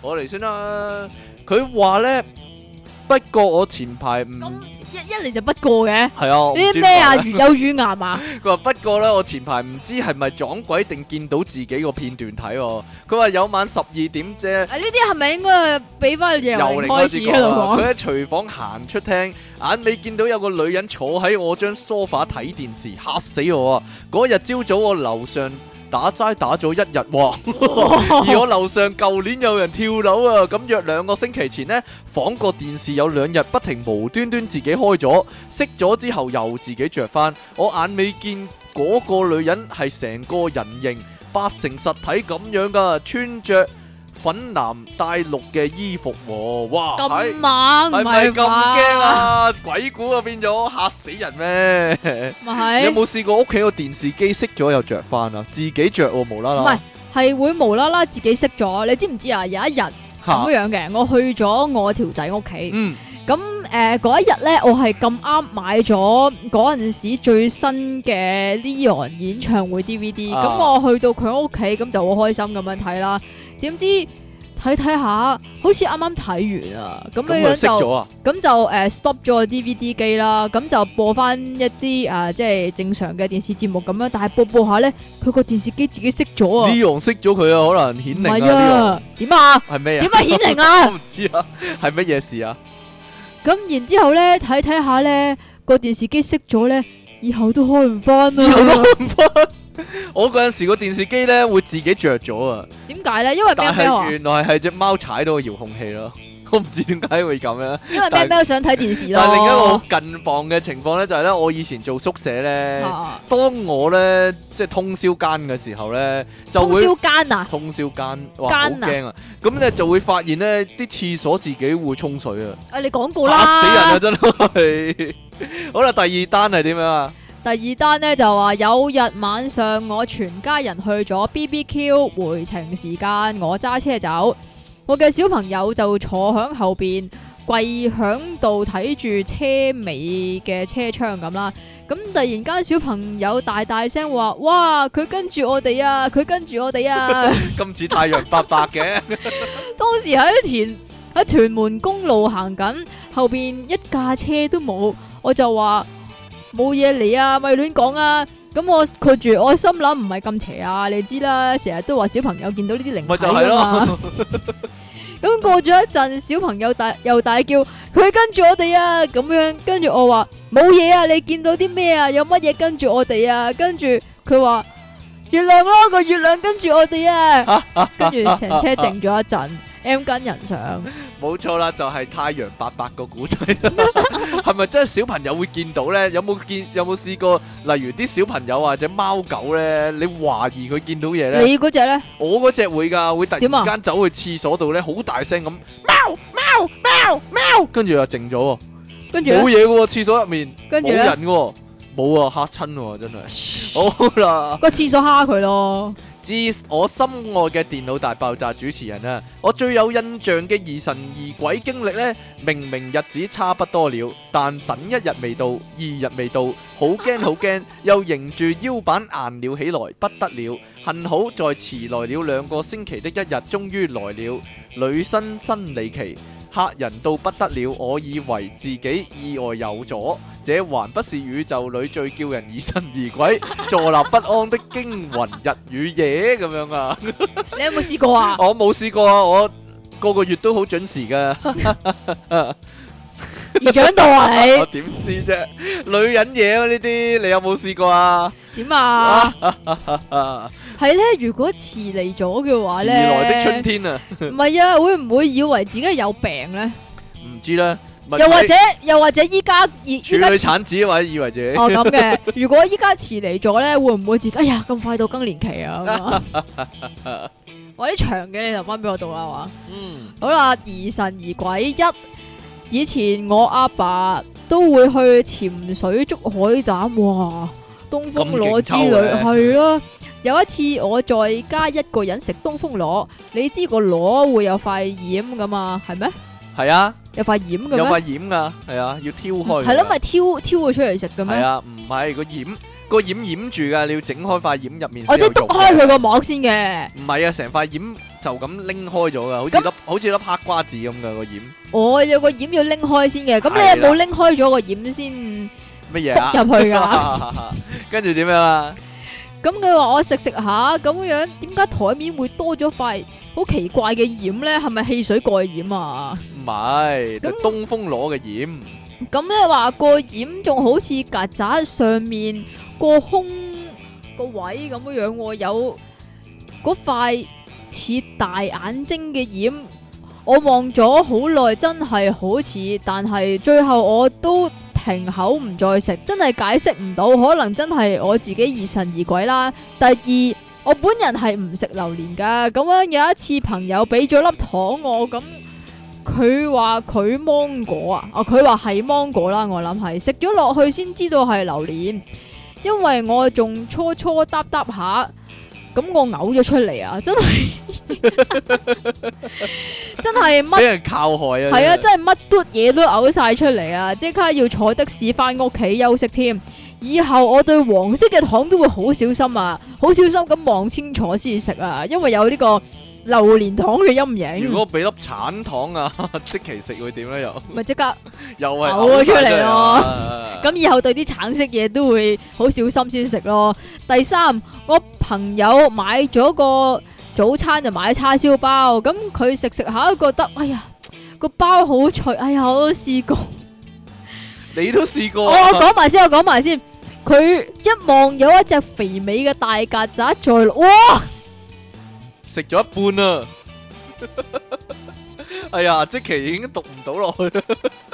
我嚟先啦。佢話咧，不過我前排唔咁一嚟就不過嘅， 係啊，我唔呢知啲咩啊？ 點解如有乳癌啊？ 佢話不過咧，我前排唔知係咪撞鬼定見到自己個片段睇喎。佢話有晚12點啫。 啊，呢啲係咪應該俾翻由由零開始嗰度啊！佢講？ 喺廚房行出廳，眼尾見到有個女人坐喺我張梳化睇電視，嚇死我啊！嗰日朝早我樓上打齋打咗1日喎，而我樓上舊年有人跳樓啊！咁約2個星期前呢，房個電視有2日不停無端端自己開咗，熄咗之後又自己着翻。我眼尾見嗰個女人係成個人形8成實體咁樣噶，穿着粉藍帶綠嘅衣服喎，哇！ 咁猛唔係咪咁係嘛？ 驚啊？鬼故啊變咗，嚇死人咩？你有咪係冇試過屋企個電視機熄咗又着翻啊？自己着喎，無啦唔係啦。 係會無啦啦自己熄咗？你知唔知啊？有一日嚇咁樣嘅，我去咗我條仔屋企。 嗯咁嗰一日咧，我係咁啱買咗嗰陣時最新嘅 Leon 演唱會 DVD，咁、 啊我去到佢屋企，咁就好開心咁樣睇啦。點知睇睇下，好似啱啱睇完啊，咁咁佢樣樣就熄咗啊？ 咁就stop 咗個 DVD 機啦，咁就播翻一啲即係正常嘅電視節目咁樣，但係播下咧，佢個電視機自己熄咗啊！ 呢樣熄咗佢啊，可能顯唔係靈啊！ 啊，點啊？ 呢樣係咩啊？ 點解顯靈我啊？ 唔知啊，係乜嘢事啊？ 咁然之後咧，睇睇下咧，個電視機熄咗咧，以後都開唔翻以後都啦。 開唔翻。我嗰陣時個電視機咧會自己着咗啊， 點解咧？因為但喵喵啊， 係原來係隻貓踩到個遙控器咯。我唔知點解會咁樣。 因為喵喵想睇電視咯。 但係另一個好近況嘅情況咧，就係咧，我以前做宿舍咧， 啊當我咧即係通宵更嘅時候咧，就會通宵間啊， 通宵更，哇好更啊驚啊！咁咧就會發現咧啲廁所自己會沖水啊， 你講過嚇死人啊啦。 真係！好啦，第二單係點樣啊？ 第二單咧就話有日晚上我全家人去咗 BBQ，回程時間我揸車走，我嘅小朋友就坐響後邊跪響度睇住車尾嘅車窗咁啦。咁突然間小朋友大大聲話：哇！佢跟住我哋啊！佢跟住我哋啊！ 咁似太陽伯伯嘅， 當時喺屯門公路行緊，後邊一架車都冇，我就話冇嘢嚟啊，咪亂講啊！咁我括住，我心諗唔係咁邪啊，你知啦，成日都話小朋友見到呢啲靈體咪就係㗎嘛。 咯。 咁過咗一陣，小朋友又大叫佢跟住我哋啊，咁樣跟住我話冇嘢啊，你見到啲咩啊？有乜嘢跟住我哋啊？跟住佢話月亮咯，個月亮跟住我哋啊，跟住成車靜咗一陣，M 跟人上。 冇錯啦，就係太陽伯伯個古仔，係咪真係小朋友會見到咧？有冇試過？例如啲小朋友或者貓狗咧，你懷疑佢見到嘢咧？ 你嗰隻咧？ 我嗰隻會㗎，會突點啊然間走去廁所度咧，好大聲咁喵喵喵喵，跟住就靜咗喎， 跟住呢冇嘢嘅喎，廁所入面冇跟住咧人嘅喎，冇啊，嚇親喎，真係。好啦。 個廁所蝦佢咯。 致我心愛嘅電腦大爆炸主持人啊，我最有印象嘅疑神疑鬼經歷呢，明明日子差不多了，但等1日未到，2日未到，好驚好驚，又迎住腰板硬了起來，不得了。幸好在遲來了2個星期的一日，終於來了。女生生理期，嚇人到不得了，我以為自己意外有咗，這還不是宇宙裏最叫人疑神疑鬼、坐立不安的驚魂日與夜咁樣啊！ 你有冇試過啊？ 我冇試過啊，我個個月都好準時噶。 而長到啊我點知啫？女人嘢啊呢啲，你有冇試過啊？ 你點啊？係咧，如果遲嚟咗嘅話遲咧， 來的春天啊， 唔係啊，會唔會以為自己有病咧？ 唔知咧。 又或者依家處女遲產子或者以為自己哦咁嘅，如果依家遲嚟咗咧，會唔會自己哎呀咁快到更年期啊？咁啊我啲長嘅你留翻俾我讀啦，係嘛？ 嗯好啦，疑神疑鬼一，以前我阿爸都會去潛水捉海膽，哇！東風螺之類咁勁抽嘅係咯。有一次我在家一個人食東風螺，你知個螺會有塊掩噶嘛？係咩？ 係啊， 有塊掩嘅有塊咩？ 掩噶，係啊，要挑開㗎。 係咯，咪挑佢出嚟食嘅咩？ 係啊，唔係個掩掩住噶，你要整開塊掩入面先我即係有肉嘅。 篤開佢個膜先嘅。 唔係啊，成塊掩就咁拎開咗噶，好似咁粒好似粒黑瓜子咁嘅個染。 我有個染要拎開先嘅，咁你係啦有冇拎開咗個染先乜嘢啊？ 篤入去㗎？ 跟住點樣啊？ 咁佢話我食食下咁樣，點解台面會多咗塊好奇怪嘅染咧？係咪汽水蓋染啊？ 唔係，就咁東風攞嘅染。 咁咧話個染仲好似曱甴上面個胸個位咁樣喎，有嗰塊似大眼睛嘅染，我望咗好耐，真係好似，但係最後我都停口唔再食，真係解釋唔到，可能真係我自己疑神疑鬼啦。第二，我本人係唔食榴蓮噶，咁樣有一次朋友俾咗粒糖我，咁佢話佢芒果啊，佢話係芒果啦，我諗係食咗落去先知道係榴蓮，因為我仲初嗒下。咁我嘔咗出嚟啊！真係真係乜俾人靠害啊！ 係啊！真係乜嘟嘢都嘔晒出嚟啊！即刻要坐的士翻屋企休息添。以後我對黃色嘅糖都會好小心啊，好小心咁望清楚先食啊，因為有呢個榴蓮糖嘅陰影。 如果俾粒橙糖啊，即期食會點咧？又咪即刻又係嘔咗出嚟咯咯。 咁以後對啲橙色嘢都會好小心先食咯。第三，我朋友買咗個早餐就買叉燒包，咁佢食食下都覺得，哎呀個包好脆，哎呀我都試過。 你都試過我啊？ 講埋先，我講埋先。佢一望有一隻肥美嘅大曱甴在，哇！ 食咗一半啊！哎呀，即期已經讀唔到落去啦。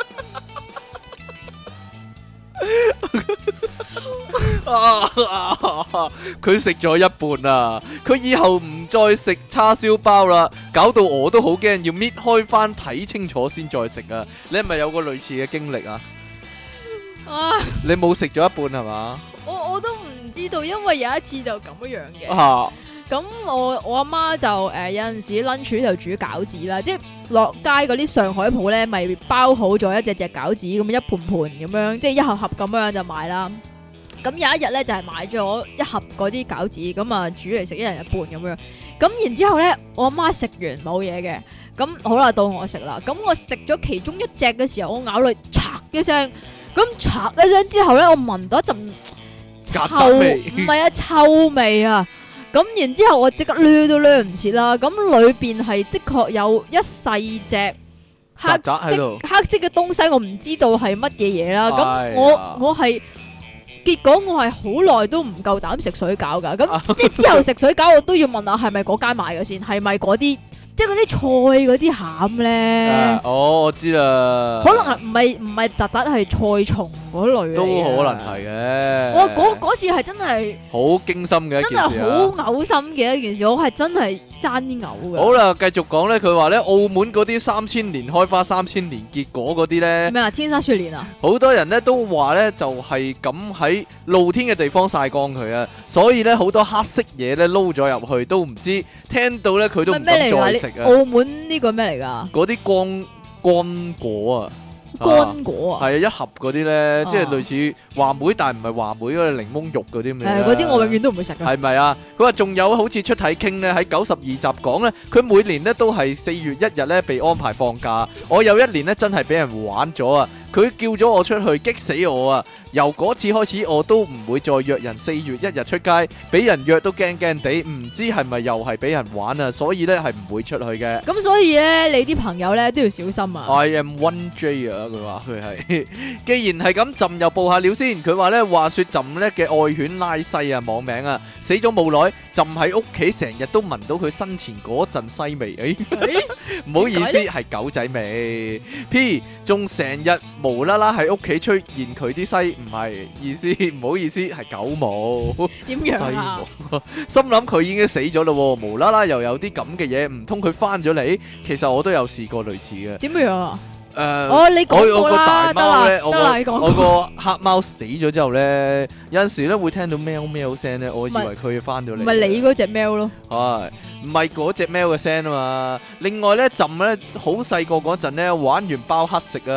佢食咗一半啊！佢以後唔再食叉燒包啦，搞到我都好驚，要搣開翻睇清楚先再食啊！你係咪有個類似嘅經歷啊？ 啊！ 你冇食咗一半係嘛？ 我都唔知道，因為有一次就咁樣嘅。 啊！ 咁我阿媽就有陣時 lunch 就煮餃子啦，即係落街嗰啲上海鋪咧，咪包好咗一隻餃子咁一盤咁樣，即係一盒盒咁樣就買啦。咁有一日咧就係買咗一盒嗰啲餃子，咁啊煮嚟食，一人一半咁樣。咁然之後咧，我阿媽食完冇嘢嘅，咁好啦，到我食啦。咁我食咗其中一隻嘅時候，我咬落去嚓一聲，咁嚓一聲之後咧，我聞到一陣曱甴味唔係啊，臭味啊！咁然之後我即刻掠都掠唔切啦，咁裏邊係的確有一細隻黑曱甴喺度黑色嘅東西，我唔知道係乜嘢嘢啦。 哎呀咁我係結果我係好耐都唔夠膽食水餃噶，咁即係之後食水餃我都要問下係咪嗰間買嘅先，係咪嗰啲即係嗰啲菜嗰啲餡咧？ 哦，我知啦， 可能係唔係特登係菜蟲嗰類嚟嘅都可能係嘅。 我嗰次係真係。 好驚心嘅一真係件事啊！ 好嘔心嘅一件事，我係真係爭啲嘔嘅。 好啦，繼續講咧，佢話咧澳門嗰啲3000年開花3000年結果嗰啲咧， 咩啊？千山雪蓮啊？ 好多人咧都話咧就係咁喺露天嘅地方曬乾佢啊，所以咧好多黑色嘢咧撈咗入去都唔知，聽到咧佢都唔敢咩嚟㗎？ 再食啊！ 澳門呢個咩嚟㗎？ 嗰啲乾果啊！ 乾果啊？ 係啊，一盒嗰啲咧，即係啊類似話梅，但係唔係話梅嗰個檸檬肉嗰啲咁樣。 嗰啲我永遠都唔會食嘅。 係咪啊？佢話仲有好似出體傾咧，喺92集講咧，佢每年咧都係4月1日咧被安排放假。我有一年咧真係俾人玩咗啊！佢叫咗我出去，激死我啊！由嗰次開始，我都唔會再約人4月1日出街，俾人約都驚驚地，唔知係咪又係俾人玩啊？所以咧係唔會出去嘅。 咁所以咧，你啲朋友咧都要小心啊！ I am 1J 啊！佢話佢係，既然係咁，朕又報下料先。佢話咧，話說朕咧嘅愛犬拉西啊，網名啊，死咗冇耐，朕喺屋企成日都聞到佢生前嗰陣西味。唔好意思，係狗仔味。P 仲成日無啦啦喺屋企出現佢啲西，唔係意思，唔好意思，係狗毛。 點樣啊？ 心諗佢已經死咗咯，無啦啦又有啲咁嘅嘢，唔通佢翻咗嚟？其實我都有試過類似嘅。 點樣啊？ 你講過我個大啦， 貓咧， 得啦，你講我過。 個黑貓死咗之後咧，有陣時咧會聽到喵喵聲咧，我以為佢翻咗嚟。 唔係你嗰隻喵咯？ 係唔係嗰隻喵嘅聲啊嘛？另外咧，朕咧好細個嗰陣咧，玩完包黑食啊，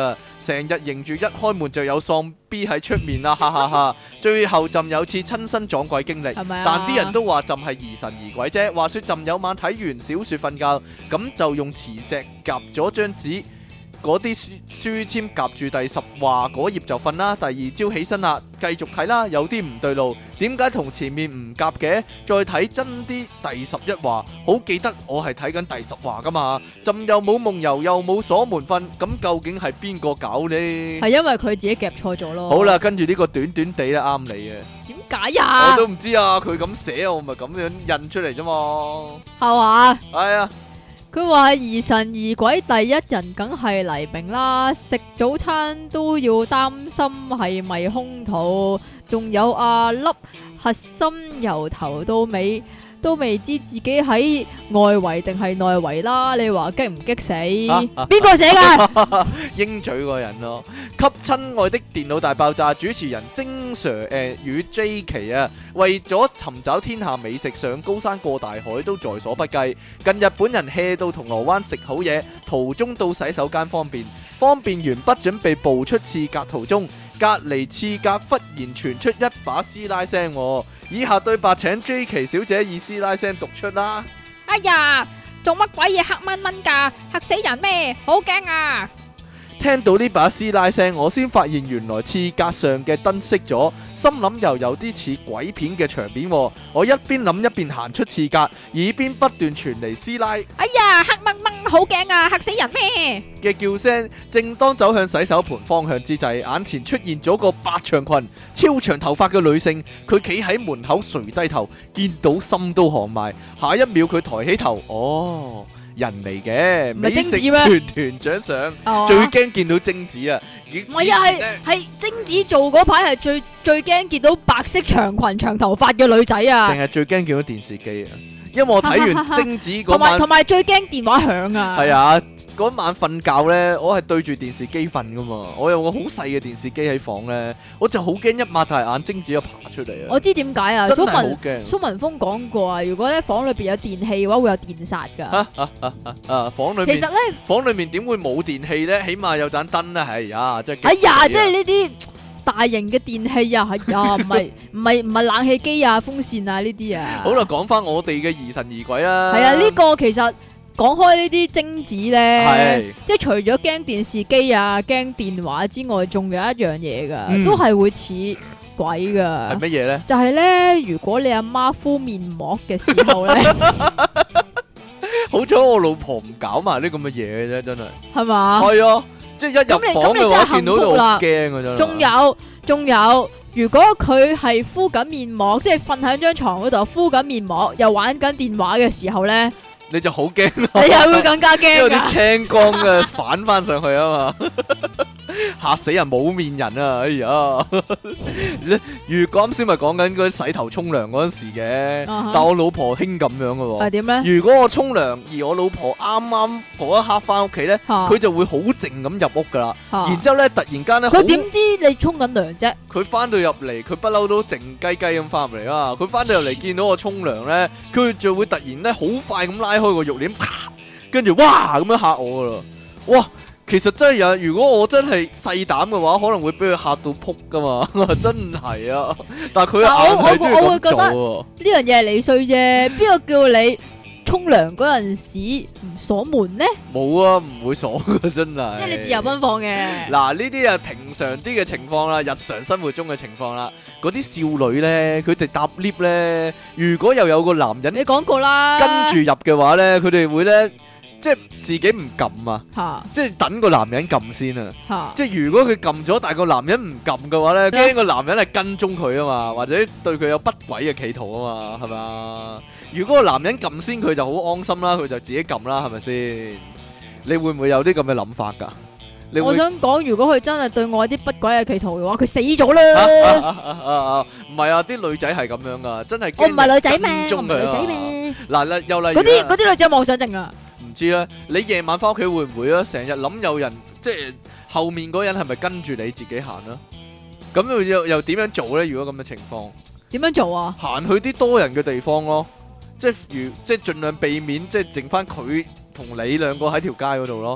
成日認住一開門就有喪 B 喺出面啦，哈哈哈！最後朕有次親身撞鬼經歷， 係咪啊？ 但啲人都話朕係疑神疑鬼啫。話說朕有晚睇完小説瞓覺，咁就用磁石夾咗張紙。嗰啲書籤夾住第10話嗰頁就瞓啦，第二朝起身啦，繼續睇啦，有啲唔對路，點解同前面唔夾嘅？再睇真啲第11話，好記得我係睇緊第10話噶嘛，朕又冇夢遊又冇鎖門瞓，咁究竟係邊個搞呢？ 係因為佢自己夾錯咗咯。 好啦，跟住呢個短短地咧啱你嘅， 點解呀？ 我都唔知啊，佢咁寫我咪咁樣印出嚟啫嘛， 係嘛？ 係啊。 佢話疑神疑鬼第一人梗係黎明啦，食早餐都要擔心係咪空肚，仲有阿粒核心由頭到尾都未知自己喺外圍定係內圍啦，你話激唔激死？邊個寫噶？ 鷹嘴個人咯，給親愛的電腦大爆炸主持人精 Sir 與 J 奇啊，為咗尋找天下美食，上高山過大海都在所不計。近日本人 hea 到銅鑼灣食好嘢，途中到洗手間方便完畢，準備步出廁格途中，隔離廁格忽然傳出一把師奶聲喎。以下對白請 J 奇小姐以師奶聲讀出啦。 哎呀，做乜鬼嘢黑蚊蚊噶？嚇死人咩？好驚啊！ 聽到呢把師奶聲，我先發現原來廁格上嘅燈熄咗，心諗又有啲似鬼片嘅場面喎。我一邊諗一邊行出廁格，耳邊不斷傳嚟師奶哎呀，黑蚊蚊，好驚啊！嚇死人咩？ 嘅叫聲。正當走向洗手盆方向之際，眼前出現咗個白長裙、超長頭髮嘅女性，佢企喺門口垂低頭，見到心都寒埋。下一秒佢抬起頭，哦，人嚟嘅， 唔係精子咩？ 美食團長相，最驚見到精子啊！ 唔係啊，係精子做嗰排係最驚見到白色長裙長頭髮嘅女仔啊！ 定係最驚見到電視機啊！因為我睇完精子嗰晚， 同埋最驚電話響啊！ 係啊，嗰晚瞓覺咧，我係對住電視機瞓噶嘛，我有個好細嘅電視機喺房咧，我就好驚一擘大眼精子就爬出嚟啊！ 我知點解啊！ 真係好驚。 蘇文峰講過啊，如果咧房裏邊有電器嘅話，會有電殺噶。 房裏面其實咧， 房裏面點會冇電器咧？起碼有盞燈啦，係啊，即係。 哎呀，即係呢啲大型嘅電器啊，係啊，唔係冷氣機啊、風扇啊呢啲啊。 好啦，講翻我哋嘅疑神疑鬼啦。 係啊，呢個其實講開呢啲精子咧，即係除咗驚電視機啊、驚電話之外，仲有一樣嘢噶，都係會似鬼噶。 係乜嘢咧？ 就係咧，如果你阿媽敷面膜嘅時候咧， 好彩我老婆唔搞埋呢咁嘅嘢啫，真係。 係嘛？ 係啊。即係一入房嘅話，見到就好驚啊！真係。 仲有，如果佢係敷緊面膜，即係瞓喺張床嗰度敷緊面膜，又玩緊電話嘅時候咧， 你就好驚咯。 你又會更加驚。 因為啲青光嘅反翻上去啊嘛，嚇死人冇面人啊！哎呀，如果啱先咪講緊嗰啲洗頭沖涼嗰陣時嘅，但我老婆興咁樣嘅喎。 係點咧？ 如果我沖涼而我老婆啱啱嗰一刻翻屋企咧，佢就會好靜咁入屋噶啦。然之後咧，突然間咧， 佢點知你沖緊涼啫？ 佢翻到入嚟，佢不嬲都靜雞雞咁翻入嚟啊！佢翻到入嚟見到我沖涼咧，佢就會突然咧好快咁拉開個浴簾，跟住哇咁樣嚇我噶啦！哇！其實真係有，如果我真係細膽嘅話，可能會俾佢嚇到撲噶嘛，真係啊！但係佢硬係中意咁做喎。 呢樣嘢係你衰啫，邊個叫你沖涼嗰陣時唔鎖門呢？ 冇啊，唔會鎖噶，真係。 即係你自由奔放嘅。 嗱，呢啲啊平常啲嘅情況啦，日常生活中嘅情況啦，嗰啲少女咧，佢哋搭 lift 咧，如果又有個男人， 你講過啦， 跟住入嘅話咧，佢哋會咧。即係自己唔撳啊，即係等個男人撳先啊。即係如果佢撳咗，但係個男人唔撳嘅話咧，驚個男人係跟蹤佢啊嘛，或者對佢有不軌嘅企圖啊嘛，係咪啊？如果個男人撳先，佢就好安心啦，佢就自己撳啦，係咪先？你會唔會有啲咁嘅諗法㗎？ 我想講，如果佢真係對我有啲不軌嘅企圖嘅話，佢死咗啦。 唔係啊，啲女仔係咁樣㗎，真係。 我唔係女仔咩？我唔係女仔咩？ 嗱，又例如嗰啲女仔有妄想症啊。 唔知啦，你夜晚翻屋企會唔會啊？成日諗有人，即係後面嗰人係咪跟住你自己行啊？咁又點樣做咧？如果咁嘅情況， 點樣做啊？ 行去啲多人嘅地方咯，即係盡量避免，即係剩翻佢同你兩個喺條街嗰度咯。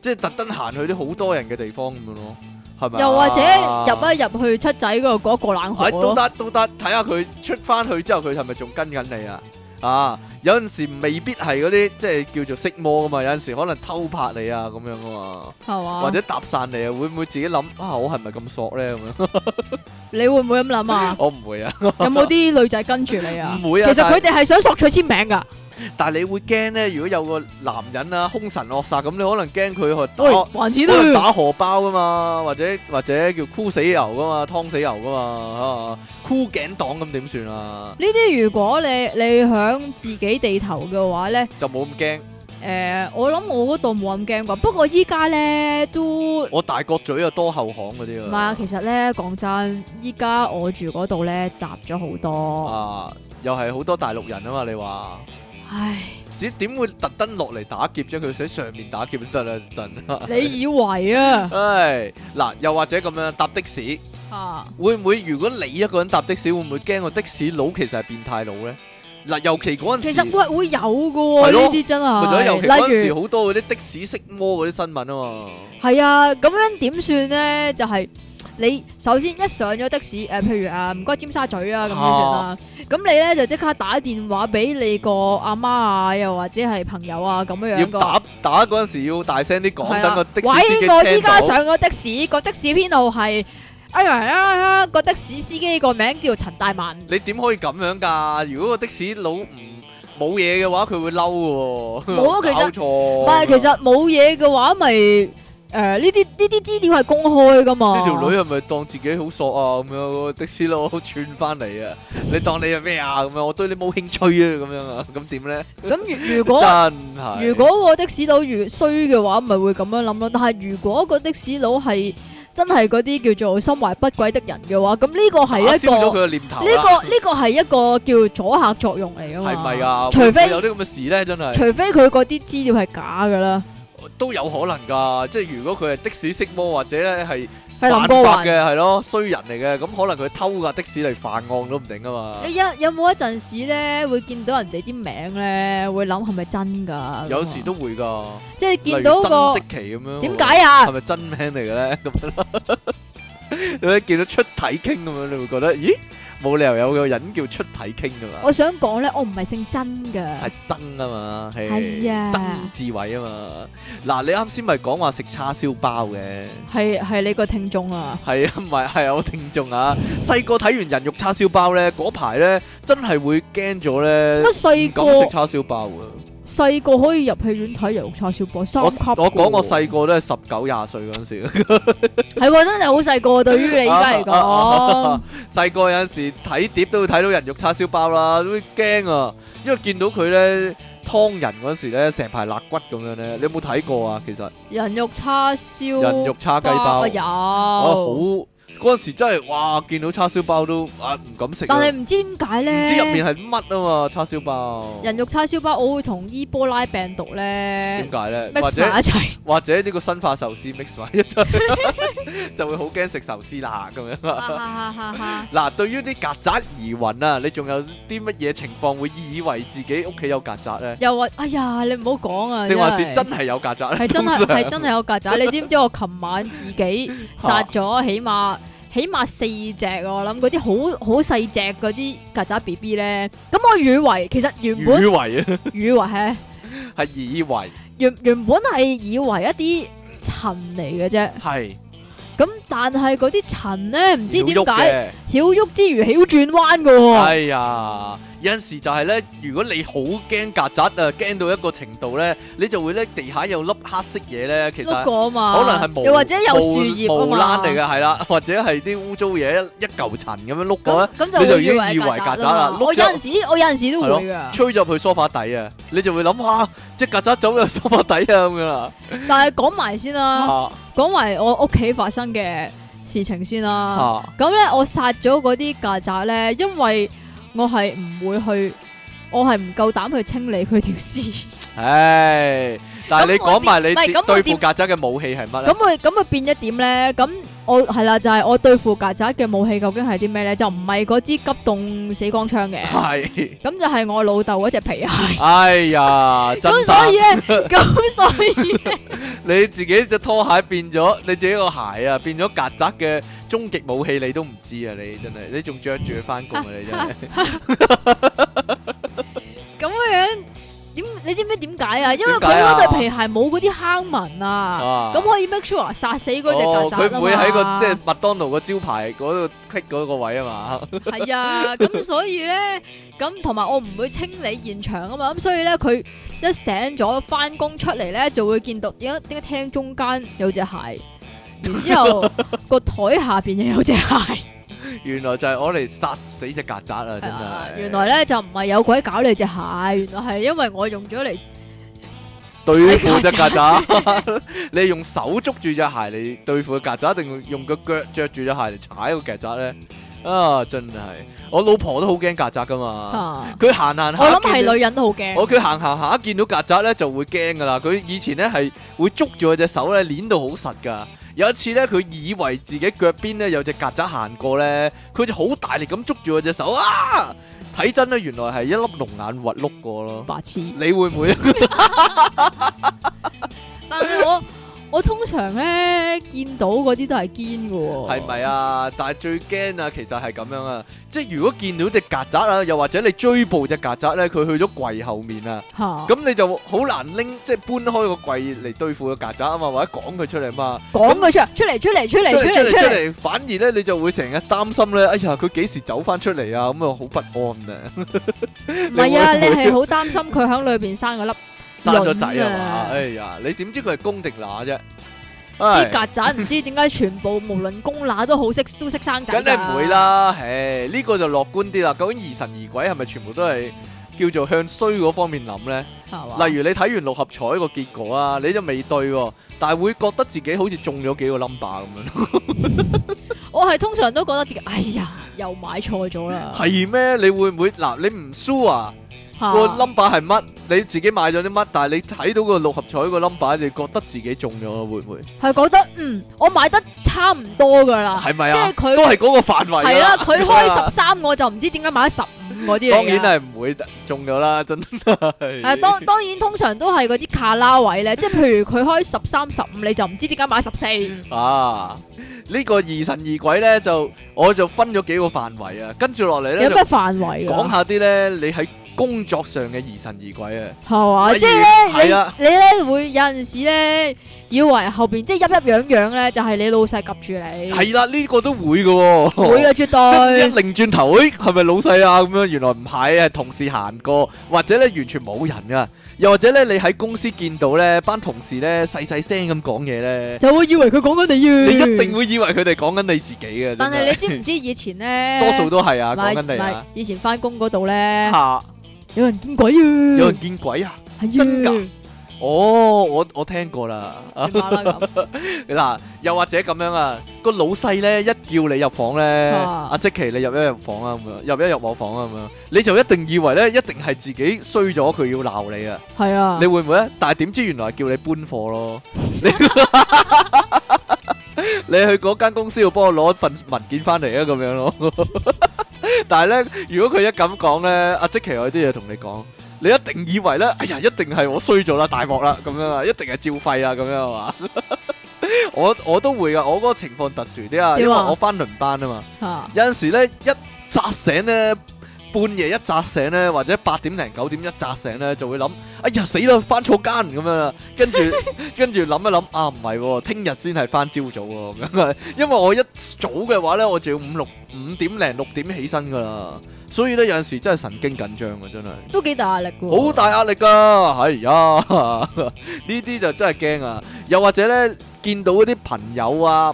即係特登行去啲好多人嘅地方咁樣咯，係咪？ 又或者入一入去七仔嗰度嗰個冷河都得都得，睇下佢出翻去之後，佢係咪仲跟緊你啊？啊，有陣時未必係嗰啲即係叫做色魔噶嘛，有陣時可能偷拍你啊咁樣噶嘛， 係嘛？ 或者搭訕你啊，會唔會自己諗啊？我係咪咁索咧咁樣？ 你會唔會咁諗啊？ 我唔會啊。 有冇啲女仔跟住你啊？ 唔會啊。 其實佢哋係想索取簽名噶。 但係你會驚咧，如果有個男人啊兇神惡煞咁，你可能驚佢去喂，還錢都打荷包噶嘛，或者叫箍死油噶嘛，劏死油噶嘛，箍頸黨咁點算啊？ 呢啲如果你響自己地頭嘅話咧， 就冇咁驚。 我諗我嗰度冇咁驚啩，不過依家咧都我大角咀啊多後巷嗰啲啊。 唔係啊，其實咧講真，依家我住嗰度咧雜咗好多啊，又係好多大陸人啊嘛，你話？ 唉， 點會特登落嚟打劫啫？佢喺上面打劫都得啦，陣。 你以為啊？ 唉，嗱，又或者咁樣搭的士，會唔會如果你一個人搭的士，會唔會驚個的士佬其實係變態佬咧？嗱，尤其嗰陣時， 其實會有㗎喎，呢啲真係。 尤其嗰陣時好多嗰啲的士色魔嗰啲新聞啊嘛。 係啊，咁樣點算咧？就係你首先一上咗的士，譬如唔該尖沙咀啊咁先算啦。咁你咧就即刻打電話俾你個阿媽啊，又或者係朋友啊咁樣樣。 要打嗰陣時要大聲啲講，等個的士司機聽到。喂，我依到。 家上咗的士，個的士編號係。個的士司機個名叫陳大文。 你點可以咁樣㗎？如果個的士佬冇嘢嘅話，佢會嬲嘅喎。 冇啊，其實錯。 唔係，其實冇嘢嘅話，咪呢啲資料係公開㗎嘛。 呢條女係咪當自己好索啊？咁樣的士佬串翻嚟啊！你當你係咩啊？咁樣我對你冇興趣啊！咁樣啊？咁點咧？ 咁如果真係， 如果個的士佬越衰嘅話，咪會咁樣諗咯。但係如果個的士佬係真係嗰啲叫做心懷不軌的人嘅話，咁呢個係一個燒咗佢嘅念頭。 呢個係一個叫阻嚇作用嚟㗎嘛。 係咪啊？ 除非有啲咁嘅事咧，真係。 除非佢嗰啲資料係假㗎啦， 都有可能㗎。即係如果佢係的士色魔或者咧係林過雲嘅，係咯衰人嚟嘅，咁可能佢偷架的士嚟犯案都唔定啊嘛。 你有冇一陣時咧會見到人哋啲名咧，會諗係咪真㗎？ 有時都會㗎， 即係見到個曾積淇咁樣。 點解啊？ 係咪真名嚟嘅咧？咁樣咯。你見到出體傾咁樣，你會覺得咦？冇理由有個人叫出體傾㗎嘛？ 我想講咧，我唔係姓曾㗎， 係曾啊嘛， 係啊， 曾志偉啊嘛。嗱，你啱先咪講話食叉燒包嘅， 係你個聽眾啊？ 係啊，唔係係我聽眾啊。細個睇完人肉叉燒包咧，嗰排咧真係會驚咗咧， 乜細個唔敢食叉燒包啊！ 細個可以入戲院睇人肉叉燒包，3級。 我講我細個都係19、20歲嗰陣時， 係喎，真係好細個。對於你而家嚟講， 細個有陣時睇碟都會睇到人肉叉燒包啦，都會驚啊！因為見到佢咧劏人嗰時咧，成排肋骨咁樣咧，你有冇睇過啊？其實人肉叉燒、 人肉叉雞包有， 好嗰陣時真係哇！見到叉燒包都唔敢食。 但係唔知點解咧？ 唔知入面係乜啊嘛？叉燒包。 人肉叉燒包，我會同伊波拉病毒咧。 點解咧？ mix 埋一齊， 或者呢個生化壽司 mix 埋一齊，就會好驚食壽司啦咁樣。嗱，對於啲曱甴疑雲啊，你仲有啲乜嘢情況會以為自己屋企有曱甴咧？ 又話哎呀，你唔好講啊！ 定還是真係有曱甴咧？ 係真係有曱甴。你知唔知我琴晚自己殺咗起碼4隻，我諗嗰啲好細隻嗰啲曱甴 B B 咧。咁我以為其實原本以為係以為原本係以為一啲塵嚟嘅啫。 係。 咁但係嗰啲塵咧，唔知點解曉喐之餘曉轉彎㗎喎。 哎呀！有陣時就係咧，如果你好驚曱甴啊，驚到一個程度咧，你就會咧地下有粒黑色嘢咧，其實可能係又或者有樹葉啊嘛， 毛躝嚟嘅係啦，或者係啲污糟嘢一嚿塵咁樣碌過咧， 咁你就已經以為曱甴啦。 我有陣時都會㗎， 吹咗去梳化底啊，你就會諗下隻曱甴走入梳化底啊咁樣啦。 但係講埋先啦，講埋我屋企發生嘅事情先啦。咁咧，我殺咗嗰啲曱甴咧，因為我係唔會去，我係唔夠膽去清理佢條屍。 唉，但係你講埋你對付曱甴嘅武器係乜咧？ 咁佢變咗點咧？咁我係啦，就係我對付曱甴嘅武器究竟係啲咩咧？就唔係嗰支急凍死光槍嘅， 係。 咁就係我老豆嗰隻皮鞋。 哎呀，真咁所以咧，咁所以呢你自己隻拖鞋變咗，你自己個鞋啊變咗曱甴嘅終極武器，你都唔知啊！你真係，你仲着住佢翻工啊！你真係。 咁樣點？你知唔知點解啊？因為佢點解啊嗰對皮鞋冇嗰啲坑紋啊，咁可以 make sure 殺死嗰隻曱甴啊嘛。 佢唔會喺個即係麥當勞個招牌嗰度 click 嗰個位啊嘛。 係啊，咁所以咧，咁同埋我唔會清理現場啊嘛，咁所以咧佢一醒咗翻工出嚟咧，就會見到點解廳中間有隻鞋，然之後個台下邊又有隻鞋。 原來就係我嚟殺死隻曱甴啊！真係。 原來咧就唔係有鬼搞你隻鞋，原來係因為我用咗嚟對付隻曱甴。你用手捉住隻鞋嚟對付個曱甴，定用個腳着住隻鞋嚟踩個曱甴咧？啊，真係！我老婆都好驚曱甴噶嘛。佢行行下， 我諗係女人都好驚。 佢行行下見到曱甴咧就會驚噶啦。佢以前咧係會捉住佢隻手咧，捏到好實噶。有一次咧，佢以為自己腳邊咧有隻曱甴行過咧，佢就好大力咁捉住我隻手啊！睇真咧，原來係一粒龍眼核碌過咯。 白痴！ 你會唔會？ 但係我通常咧見到嗰啲都係堅嘅喎。 係咪啊？但係最驚啊，其實係咁樣啊，即係如果見到隻曱甴啊，又或者你追捕隻曱甴咧，佢去咗櫃後面啊，咁你就好難拎即係搬開個櫃嚟對付個曱甴啊嘛，或者趕佢出嚟嘛。 趕佢出嚟， 反而咧你就會成日擔心咧，哎呀佢幾時走翻出嚟啊？咁啊好不安啊！ 唔係啊，你係好擔心佢喺裏邊生個粒生咗仔啊嘛？哎呀，你點知佢係公定乸啫？ 啲曱甴唔知點解全部無論公乸都識生仔。 梗係唔會啦，唉，呢個就樂觀啲啦。究竟疑神疑鬼係咪全部都係叫做向衰嗰方面諗咧？例如你睇完六合彩個結果啊，你就未對喎，但係會覺得自己好似中咗幾個 number 咁樣。 我係通常都覺得自己，哎呀，又買錯咗啦。 係咩？你會唔會嗱？你唔輸啊？個 number 係乜？你自己買咗啲乜？但係你睇到個六合彩個 number，你覺得自己中咗，會唔會？ 係覺得我買得差唔多噶啦。 係咪啊？ 即係佢都係嗰個範圍。 係啦，佢開13，我就唔知點解買咗15嗰啲嚟。 當然係唔會中咗啦，真係。 當然通常都係嗰啲卡拉位咧，即係譬如佢開13、15，你就唔知點解買14。 啊！呢個疑神疑鬼咧，我就分咗幾個範圍啊，跟住落嚟咧， 有咩範圍？ 講下啲咧，你喺工作上嘅疑神疑鬼啊， 係嘛？即係咧，你咧會有陣時咧，以為後邊即係一樣樣咧，就係你老細及住你。 係啦，呢個都會嘅， 會啊，絕對。 一擰轉頭，係咪老細啊？咁樣原來唔係，係同事行過，或者咧完全冇人噶，又或者咧你喺公司見到咧班同事咧細細聲咁講嘢咧， 就會以為佢講緊你啊！ 你一定會以為佢哋講緊你自己嘅。 但係你知唔知以前咧？ 多數都係啊，講緊你啊。 以前翻工嗰度咧。 吓！ 有人見鬼啊！ 有人見鬼啊！ 係真噶？哦，我聽過啦。嗱，又或者咁樣啊，個老細咧一叫你入房咧，阿積淇你入一入房啊咁樣，入一入我房啊咁樣，你就一定以為咧一定係自己衰咗，佢要鬧你啊。係啊。你會唔會咧？但係點知原來係叫你搬貨咯。你去嗰間公司要幫我攞一份文件翻嚟啊，咁樣咯。但係咧，如果佢一咁講咧，阿積淇有啲嘢同你講，你一定以為咧，哎呀，一定係我衰咗啦，大鑊啦，咁樣啊，一定係照肺啊，咁樣係嘛？我都會噶，我嗰個情況特殊啲啊，因為我翻輪班啊嘛，有陣時咧一扎醒咧。半夜一扎醒咧，或者8點零9點一扎醒咧，就會諗：哎呀死啦，翻錯間咁樣啦。跟住諗一諗，啊唔係，聽日先係翻朝早喎。咁啊，因為我一早嘅話咧，我就要5點零6點起身噶啦。所以咧有陣時真係神經緊張啊，真係。都幾大壓力喎。好大壓力㗎，係呀，呢啲就真係驚啊！又或者咧，見到嗰啲朋友啊，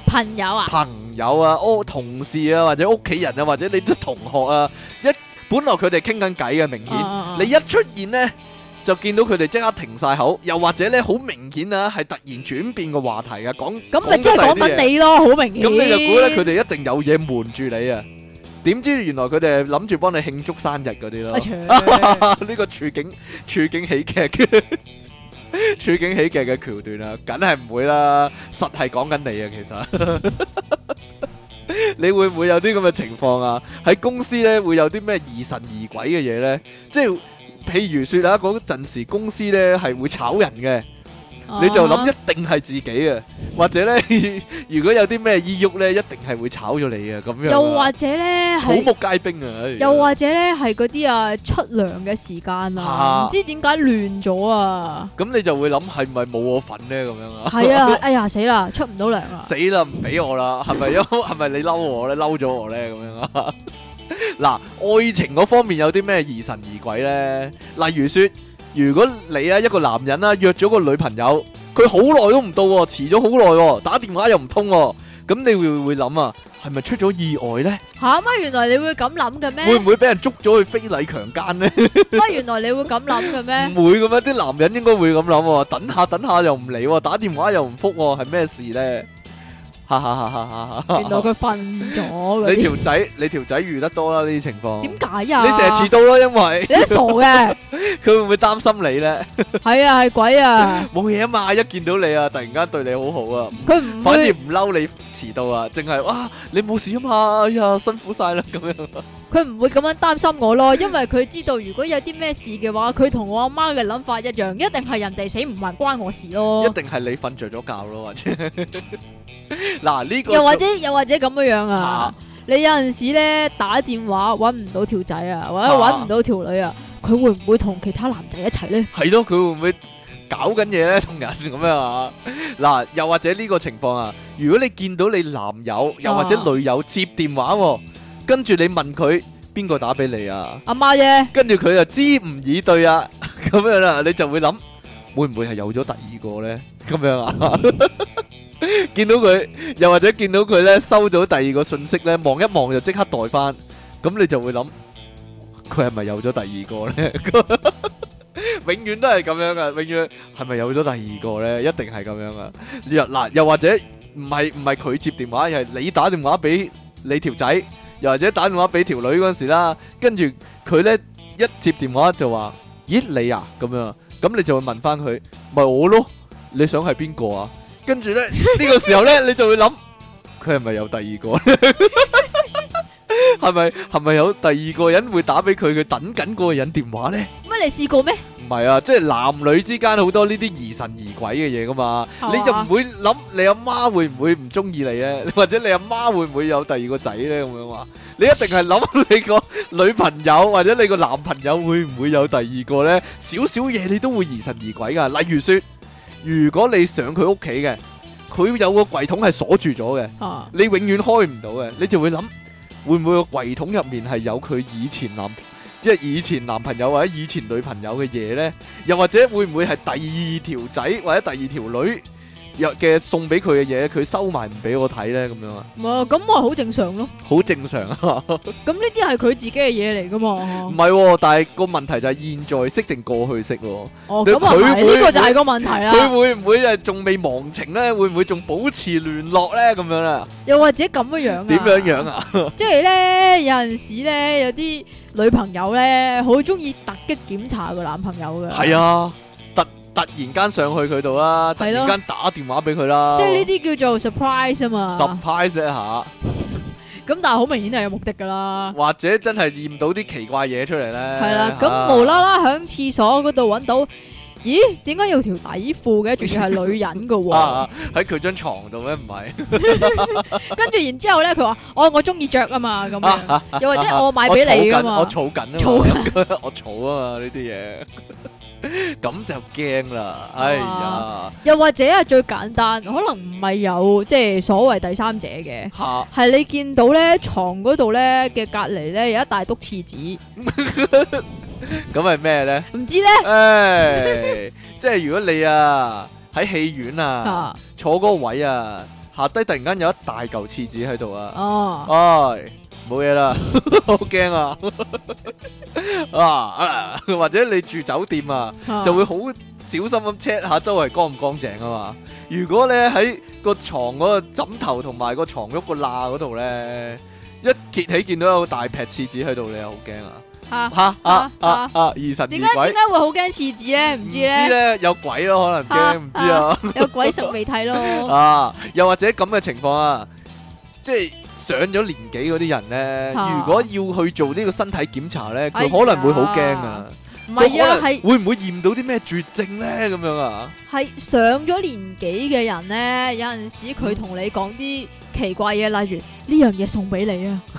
同事啊，或者屋企人啊，或者你啲同學啊，本來佢哋傾緊偈嘅，明顯你一出現呢，就見到佢哋即刻停晒口，又或者咧好明顯啊，係突然轉變個話題嘅，講咁咪即係講緊你咯，好明顯。咁你就估咧，佢哋一定有嘢瞞住你啊？點知原來佢哋係諗住幫你慶祝生日嗰啲咯？呢個處境喜劇嘅。 處境喜劇嘅橋段啊，梗係唔會啦，實係講緊你啊，其實你會唔會有啲咁嘅情況啊？喺公司咧會有啲咩疑神疑鬼嘅嘢咧？即係譬如說啊，嗰陣時公司咧係會炒人嘅。你就諗一定係自己嘅，或者咧，如果有啲咩意郁咧，一定係會炒咗你嘅咁樣。 又或者咧， 草木皆兵啊！ 又或者咧，係嗰啲啊出糧嘅時間啊，唔知點解亂咗啊！ 咁你就會諗係咪冇我份咧？咁樣啊？ 係啊！哎呀，死啦，出唔到糧啊！ 死啦，唔俾我啦！係咪係咪你嬲我咧？嬲咗我咧？咁樣啊？嗱，愛情嗰方面有啲咩疑神疑鬼咧？例如說。如果你啊一個男人啦約咗個女朋友，佢好耐都唔到，遲咗好耐，打電話又唔通，咁你會諗啊，係咪出咗意外呢？ 吓乜？原來你會咁諗嘅咩？ 會唔會俾人捉咗去非禮強姦呢？ 乜？原來你會咁諗嘅咩？ 唔會嘅咩？啲男人應該會咁諗，等下又唔嚟，打電話又唔覆，係咩事呢？哈哈哈！哈哈！ 原來佢瞓咗。 你條仔遇得多啦呢啲情況。 點解啊？ 你成日遲到啦，因為你都傻嘅。 佢會唔會擔心你咧？ 係啊，係鬼啊！ 冇嘢啊嘛，一見到你啊，突然間對你好好啊。 佢唔反而唔嬲你遲到啊，淨係哇你冇事啊嘛，哎呀辛苦晒啦咁樣。 佢唔會咁樣擔心我咯，因為佢知道如果有啲咩事嘅話，佢同我阿媽嘅諗法一樣，一定係人哋死唔還關我事咯。 一定係你瞓着咗覺咯，或者嗱呢個又或者咁樣樣啊！你有陣時咧打電話搵唔到條仔啊，或者搵唔到條女啊，佢會唔會同其他男仔一齊咧？ 係咯，佢會唔會搞緊嘢咧？同人咁樣啊？嗱，又或者呢個情況啊，如果你見到你男友又或者女友接電話，跟住你問佢邊個打俾你啊？ 阿媽啫。跟住佢就支吾以對啊，咁樣啦，你就會諗會唔會係有咗第二個咧？咁樣啊？見到佢，又或者見到佢咧收到第二個信息咧，望一望就即刻代翻，咁你就會諗佢係咪有咗第二個咧？永遠都係咁樣噶，永遠係咪有咗第二個咧？一定係咁樣噶。嗱，又或者唔係佢接電話，而係你打電話俾你條仔，又或者打電話俾條女嗰時啦，跟住佢咧一接電話就話：咦你啊咁樣，咁你就會問翻佢，咪我咯，你想係邊個啊？跟住咧呢個時候咧，你就會諗佢係咪有第二個咧？係咪有第二個人會打俾佢？佢等緊嗰個人電話咧？ 乜你試過咩？ 唔係啊，即係男女之間好多呢啲疑神疑鬼嘅嘢噶嘛，你就唔會諗你阿媽會唔會唔中意你咧？或者你阿媽會唔會有第二個仔咧？咁樣話，你一定係諗你個女朋友或者你個男朋友會唔會有第二個咧？少少嘢你都會疑神疑鬼噶，例如說。如果你上佢屋企嘅，佢有個櫃桶係鎖住咗嘅，你永遠開唔到嘅，你就會諗會唔會個櫃桶入面係有佢以前男朋友或者以前女朋友嘅嘢呢？又或者會唔會係第二條仔或者第二條女嘅送俾佢嘅嘢，佢收埋唔俾我睇呢？咁樣啊？ 唔係，咁我好正常咯。好正常啊！ 咁呢啲係佢自己嘅嘢嚟噶嘛？ 唔係，但係個問題就係現在式定過去式？ 哦，咁啊係，呢個就係個問題啦。 佢會唔會係仲未忘情呢？會唔會仲保持聯絡呢？咁樣啦？ 又或者咁樣啊？ 點樣啊？ 即係咧，有陣時咧，有啲女朋友咧，好中意突擊檢查個男朋友嘅。 係啊。突然間上去佢度啦，突然間打電話俾佢啦， 即係呢啲叫做 surprise 啊嘛 ，surprise 一下。 咁但係好明顯係有目的噶啦， 或者真係驗到啲奇怪嘢出嚟咧。 係啦，咁無啦啦響廁所嗰度揾到，咦？點解有條底褲嘅？仲要係女人噶喎？ 喺佢張床度咩？唔係。 跟住然之後咧，佢話：我中意着啊嘛，咁樣。又或者我買俾你噶嘛？ 我儲緊啊嘛，我儲啊嘛呢啲嘢。咁就驚啦，哎呀！ 又或者係最簡單，可能唔係有即係所謂第三者嘅，係你見到咧床嗰度咧嘅隔籬咧有一大篤廁紙， 咁係咩咧？ 唔知咧， 即係如果你啊喺戲院啊坐嗰個位啊下低突然間有一大嚿廁紙喺度啊，哎冇嘢啦，好驚啊！或者你住酒店啊，就會好小心咁 check 下周圍乾唔乾淨啊嘛。如果咧喺個床嗰個枕頭同埋個床褥個罅嗰度咧，一揭起見到有大撇廁紙喺度，你又好驚啊！ 疑神疑點解鬼。 會好驚廁紙咧？唔知唔知咧， 咧有鬼咯，可能驚唔知啊。 有鬼食未睇咯。 啊，又或者咁嘅情況啊，即係上咗年紀嗰啲人咧， 啊如果要去做呢個身體檢查咧，佢哎呀可能會好驚啊。 唔係啊， 佢可能係會唔會驗到啲咩絕症咧？咁樣啊？ 係上咗年紀嘅人咧，有陣時佢同你講啲奇怪嘢，例如呢樣嘢送俾你啊，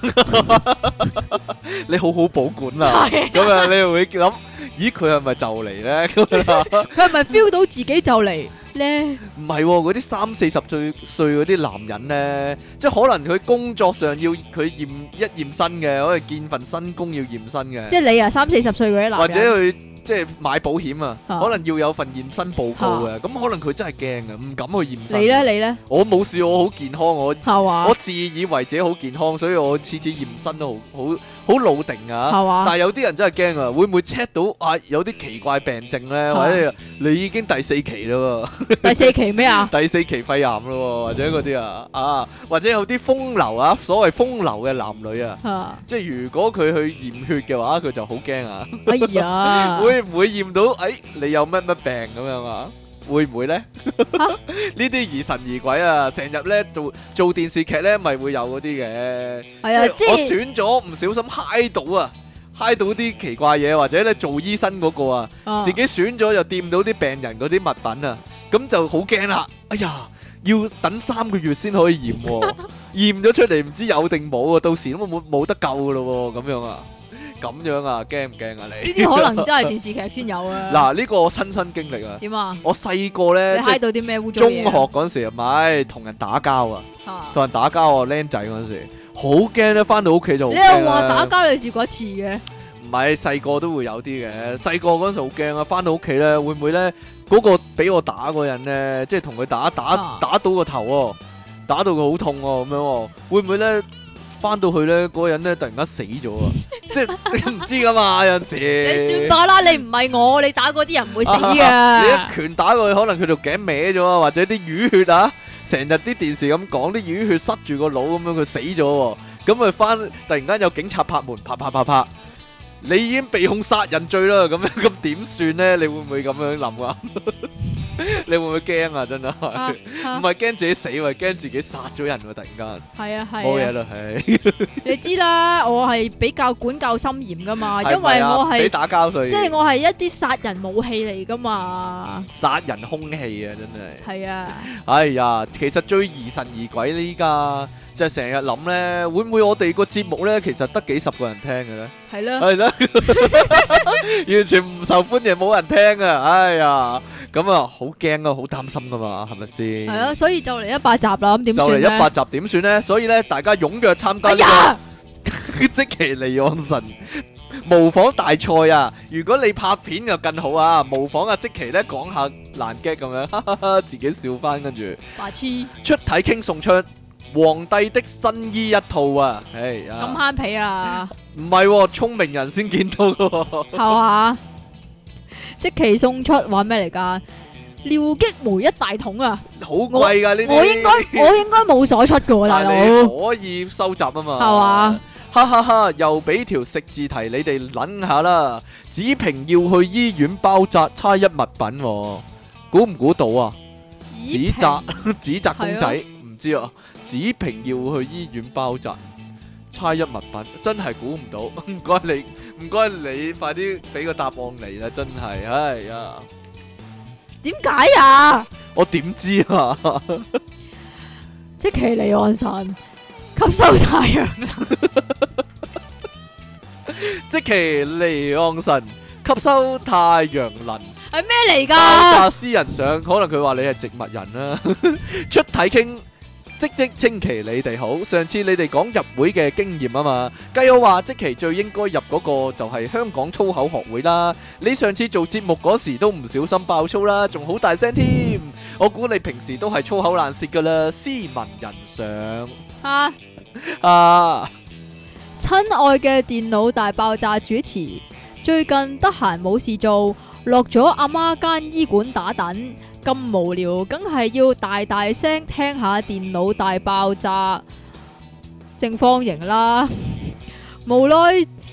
你好好保管啊，咁啊，你又會諗，咦，佢係咪就嚟咧？咁啊， 佢係咪 feel 到自己就嚟咧？ 唔係喎，嗰啲30-40歲嗰啲男人咧，即係可能佢工作上要佢驗身嘅，可能見份新工要驗身嘅。 即係你啊，30-40歲嗰啲男人， 或者佢即係買保險啊， 啊可能要有份驗身報告嘅，咁可能佢真係驚嘅，唔敢去驗身。 你咧？你咧？ 我冇事，我好健康，我係嘛？ 自以為自己好健康，所以我次次驗身都好老定啊。 係嘛？ 但係有啲人真係驚啊，會唔會 check 到啊有啲奇怪病症咧？或者你已經第4期啦第4期咩啊？ 喎，第4期肺癌啦喎，或者嗰啲啊，或者有啲風流啊，所謂風流嘅男女啊。 啊即係如果佢去驗血嘅話，佢就好驚啊！ 哎呀， 會唔會驗到？你有乜病咁樣啊？會唔會咧？呢啲疑神疑鬼啊！成日咧做電視劇咧，咪會有嗰啲嘅。 係啊，即我係選咗唔小心揩到啊，揩到啲奇怪嘢，或者咧做醫生嗰個啊，自己選咗又掂到啲病人嗰啲物品啊，咁就好驚啦！哎呀，要等3個月先可以驗喎，驗咗出嚟唔知有定冇啊，到時都冇得救噶咯喎，咁樣啊！咁樣啊，驚唔驚啊你？ 呢啲可能真係電視劇先有啊。 嗱，呢個我親身經歷啊！ 點啊？ 我細個咧，即係你揩到啲咩污糟中學嘢啊？ 嗰陣時，咪同人打交啊， 啊同人打交啊，僆仔嗰陣時，好驚咧，翻到屋企就好你驚又話打啦。 交你試過一次嘅？ 唔係細個都會有啲嘅，細個嗰陣時好驚啊！翻到屋企咧，會唔會咧嗰個俾我打嗰人咧，即係同佢打到個頭喎，打到佢好痛喎，咁樣喎，會唔會咧？翻到去咧，嗰個人咧突然間死咗啊！即係你唔知噶嘛，有陣你時。 算罷啦，你唔係我，你打嗰啲人唔會死你噶。 一拳打過去，可能佢條頸歪咗啊，或者啲淤血啊，成日啲電視咁講啲淤血塞住個腦咁樣，佢死咗喎。咁佢翻突然間有警察拍門，拍，你已經被控殺人罪啦。咁樣咁點算咧？你會唔會咁樣諗啊？你會唔會驚啊？真係唔係驚自己死，係驚自己殺咗人喎！突然間係啊係冇嘢啦，係你知啦，我係比較管教森嚴噶嘛，因為係咪啊我係俾打交所以即係我係一啲殺人武器嚟噶嘛。 殺人兇器啊！真係。 係啊， 哎呀，其實最疑神疑鬼呢，依家就係成日諗咧，會唔會我哋個節目咧，其實得幾十個人聽嘅咧？ 係啦， 係啦，完全唔受歡迎，冇人聽啊！哎呀，咁啊，好驚啊，好擔心噶嘛，係咪先？ 係啦，所以就嚟100集啦，咁點就嚟算咧？ 100集點算咧？所以咧，大家踴躍參加哎呢呀， 個積淇離岸神模仿大賽啊！如果你拍片就更好啊，模仿阿積淇咧講下爛 gag 咁樣，哈哈哈，自己笑翻，跟住。 白痴出體傾送出皇帝的新衣一套啊！唉咁啊， 慳皮啊， 唔係喎，聰明人先見到嘅喎。 係嘛？即期送出話咩嚟㗎？廖擊梅一大桶啊！ 好貴㗎呢啲。 我應該冇所出㗎喎，大但係你佬。 可以收集啊嘛。 係嘛？ 哈哈哈！又俾條食字題你哋諗下啦。子平要去醫院包紮，差一物品喎，估唔估到啊？紙紮紙紮公仔唔知啊。子平要去醫院包紮，差一物品，真係估唔到。唔該你，快啲俾個答案嚟啦！真係，哎呀， 點解啊？ 我點知啊？ 即其離岸神吸收太陽， 積淇離岸神吸收太陽能。 係咩嚟爆㗎？ 炸私人相，可能佢話你係植物人啦。出體傾，即稱其你哋好。上次你哋講入會嘅經驗啊嘛，計我話即期最應該入嗰個就係香港粗口學會啦。你上次做節目嗰時都唔小心爆粗啦，仲好大聲添。我估你平時都係粗口爛舌噶啦，斯文人上啊！ 啊！ 親愛嘅電腦大爆炸主持，最近得閒冇事做，落咗阿媽間醫館打躉，咁無聊，梗係要大大聲聽下電腦大爆炸正方形啦。無奈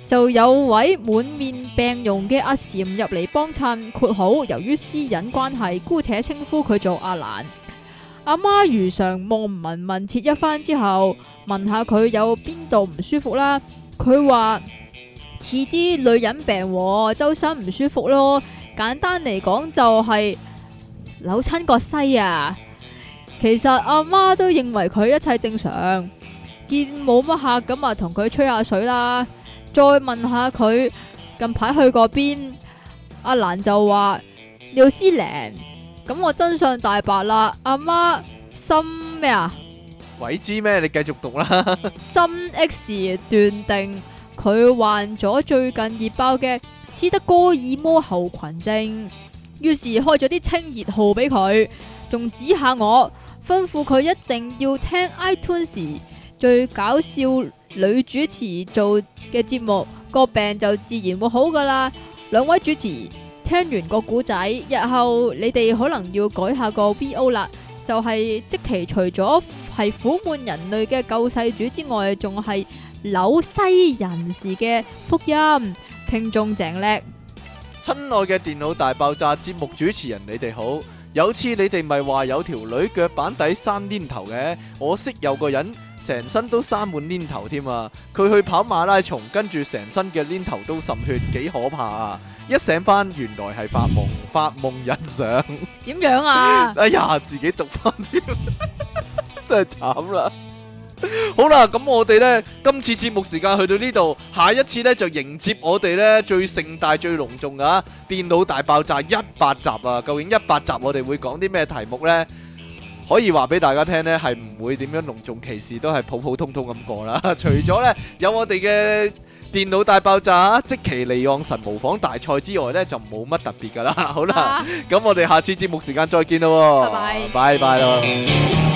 就有位滿面病容嘅阿禪入嚟幫襯，括號由於私隱關係，姑且稱呼佢做阿蘭。阿媽如常望聞問切一番之後，問下佢有邊度唔舒服啦。佢話似啲女人病喎，周身唔舒服咯。簡單嚟講就係扭親個西啊。其實阿媽都認為佢一切正常，見冇乜客咁啊，同佢吹下水啦。再問下佢近排去過邊，阿蘭就話廖思玲。咁我真相大白啦，阿媽心咩啊？ 鬼知咩？你繼續讀啦。 心 X 斷定佢患咗最近熱爆嘅斯德哥爾摩候群症，於是開咗啲清熱號俾佢，仲指下我，吩咐佢一定要聽 iTunes 最搞笑女主持做嘅節目，個病就自然會好噶啦。兩位主持聽完個故仔，日後你哋可能要改下個 VO 啦，就係即其除咗係苦悶人類嘅救世主之外，仲係紐西人士嘅福音。聽眾鄭叻， 親愛嘅電腦大爆炸節目主持人，你哋好。有次你哋咪話有條女腳板底生黏頭嘅，我識有個人成身都生滿黏頭添啊！佢去跑馬拉松，跟住成身嘅黏頭都滲血，幾可怕啊！一醒翻，原來係發夢人相。 點樣啊？ 哎呀，自己讀翻添，真係慘啦！好啦，咁我哋呢，今次節目時間去到呢度，下一次呢，就迎接我哋呢最盛大最隆重啊電腦大爆炸100集啊！究竟100集我哋會講啲咩題目呢？可以話俾大家聽呢，係唔會點樣隆重其事，都係普普通通咁過啦。除咗呢，有我哋嘅電腦大爆炸積淇離岸神模仿大賽之外呢，就冇乜特別噶啦。好啦，咁我哋下次節目時間再見咯。 拜拜， 拜拜咯。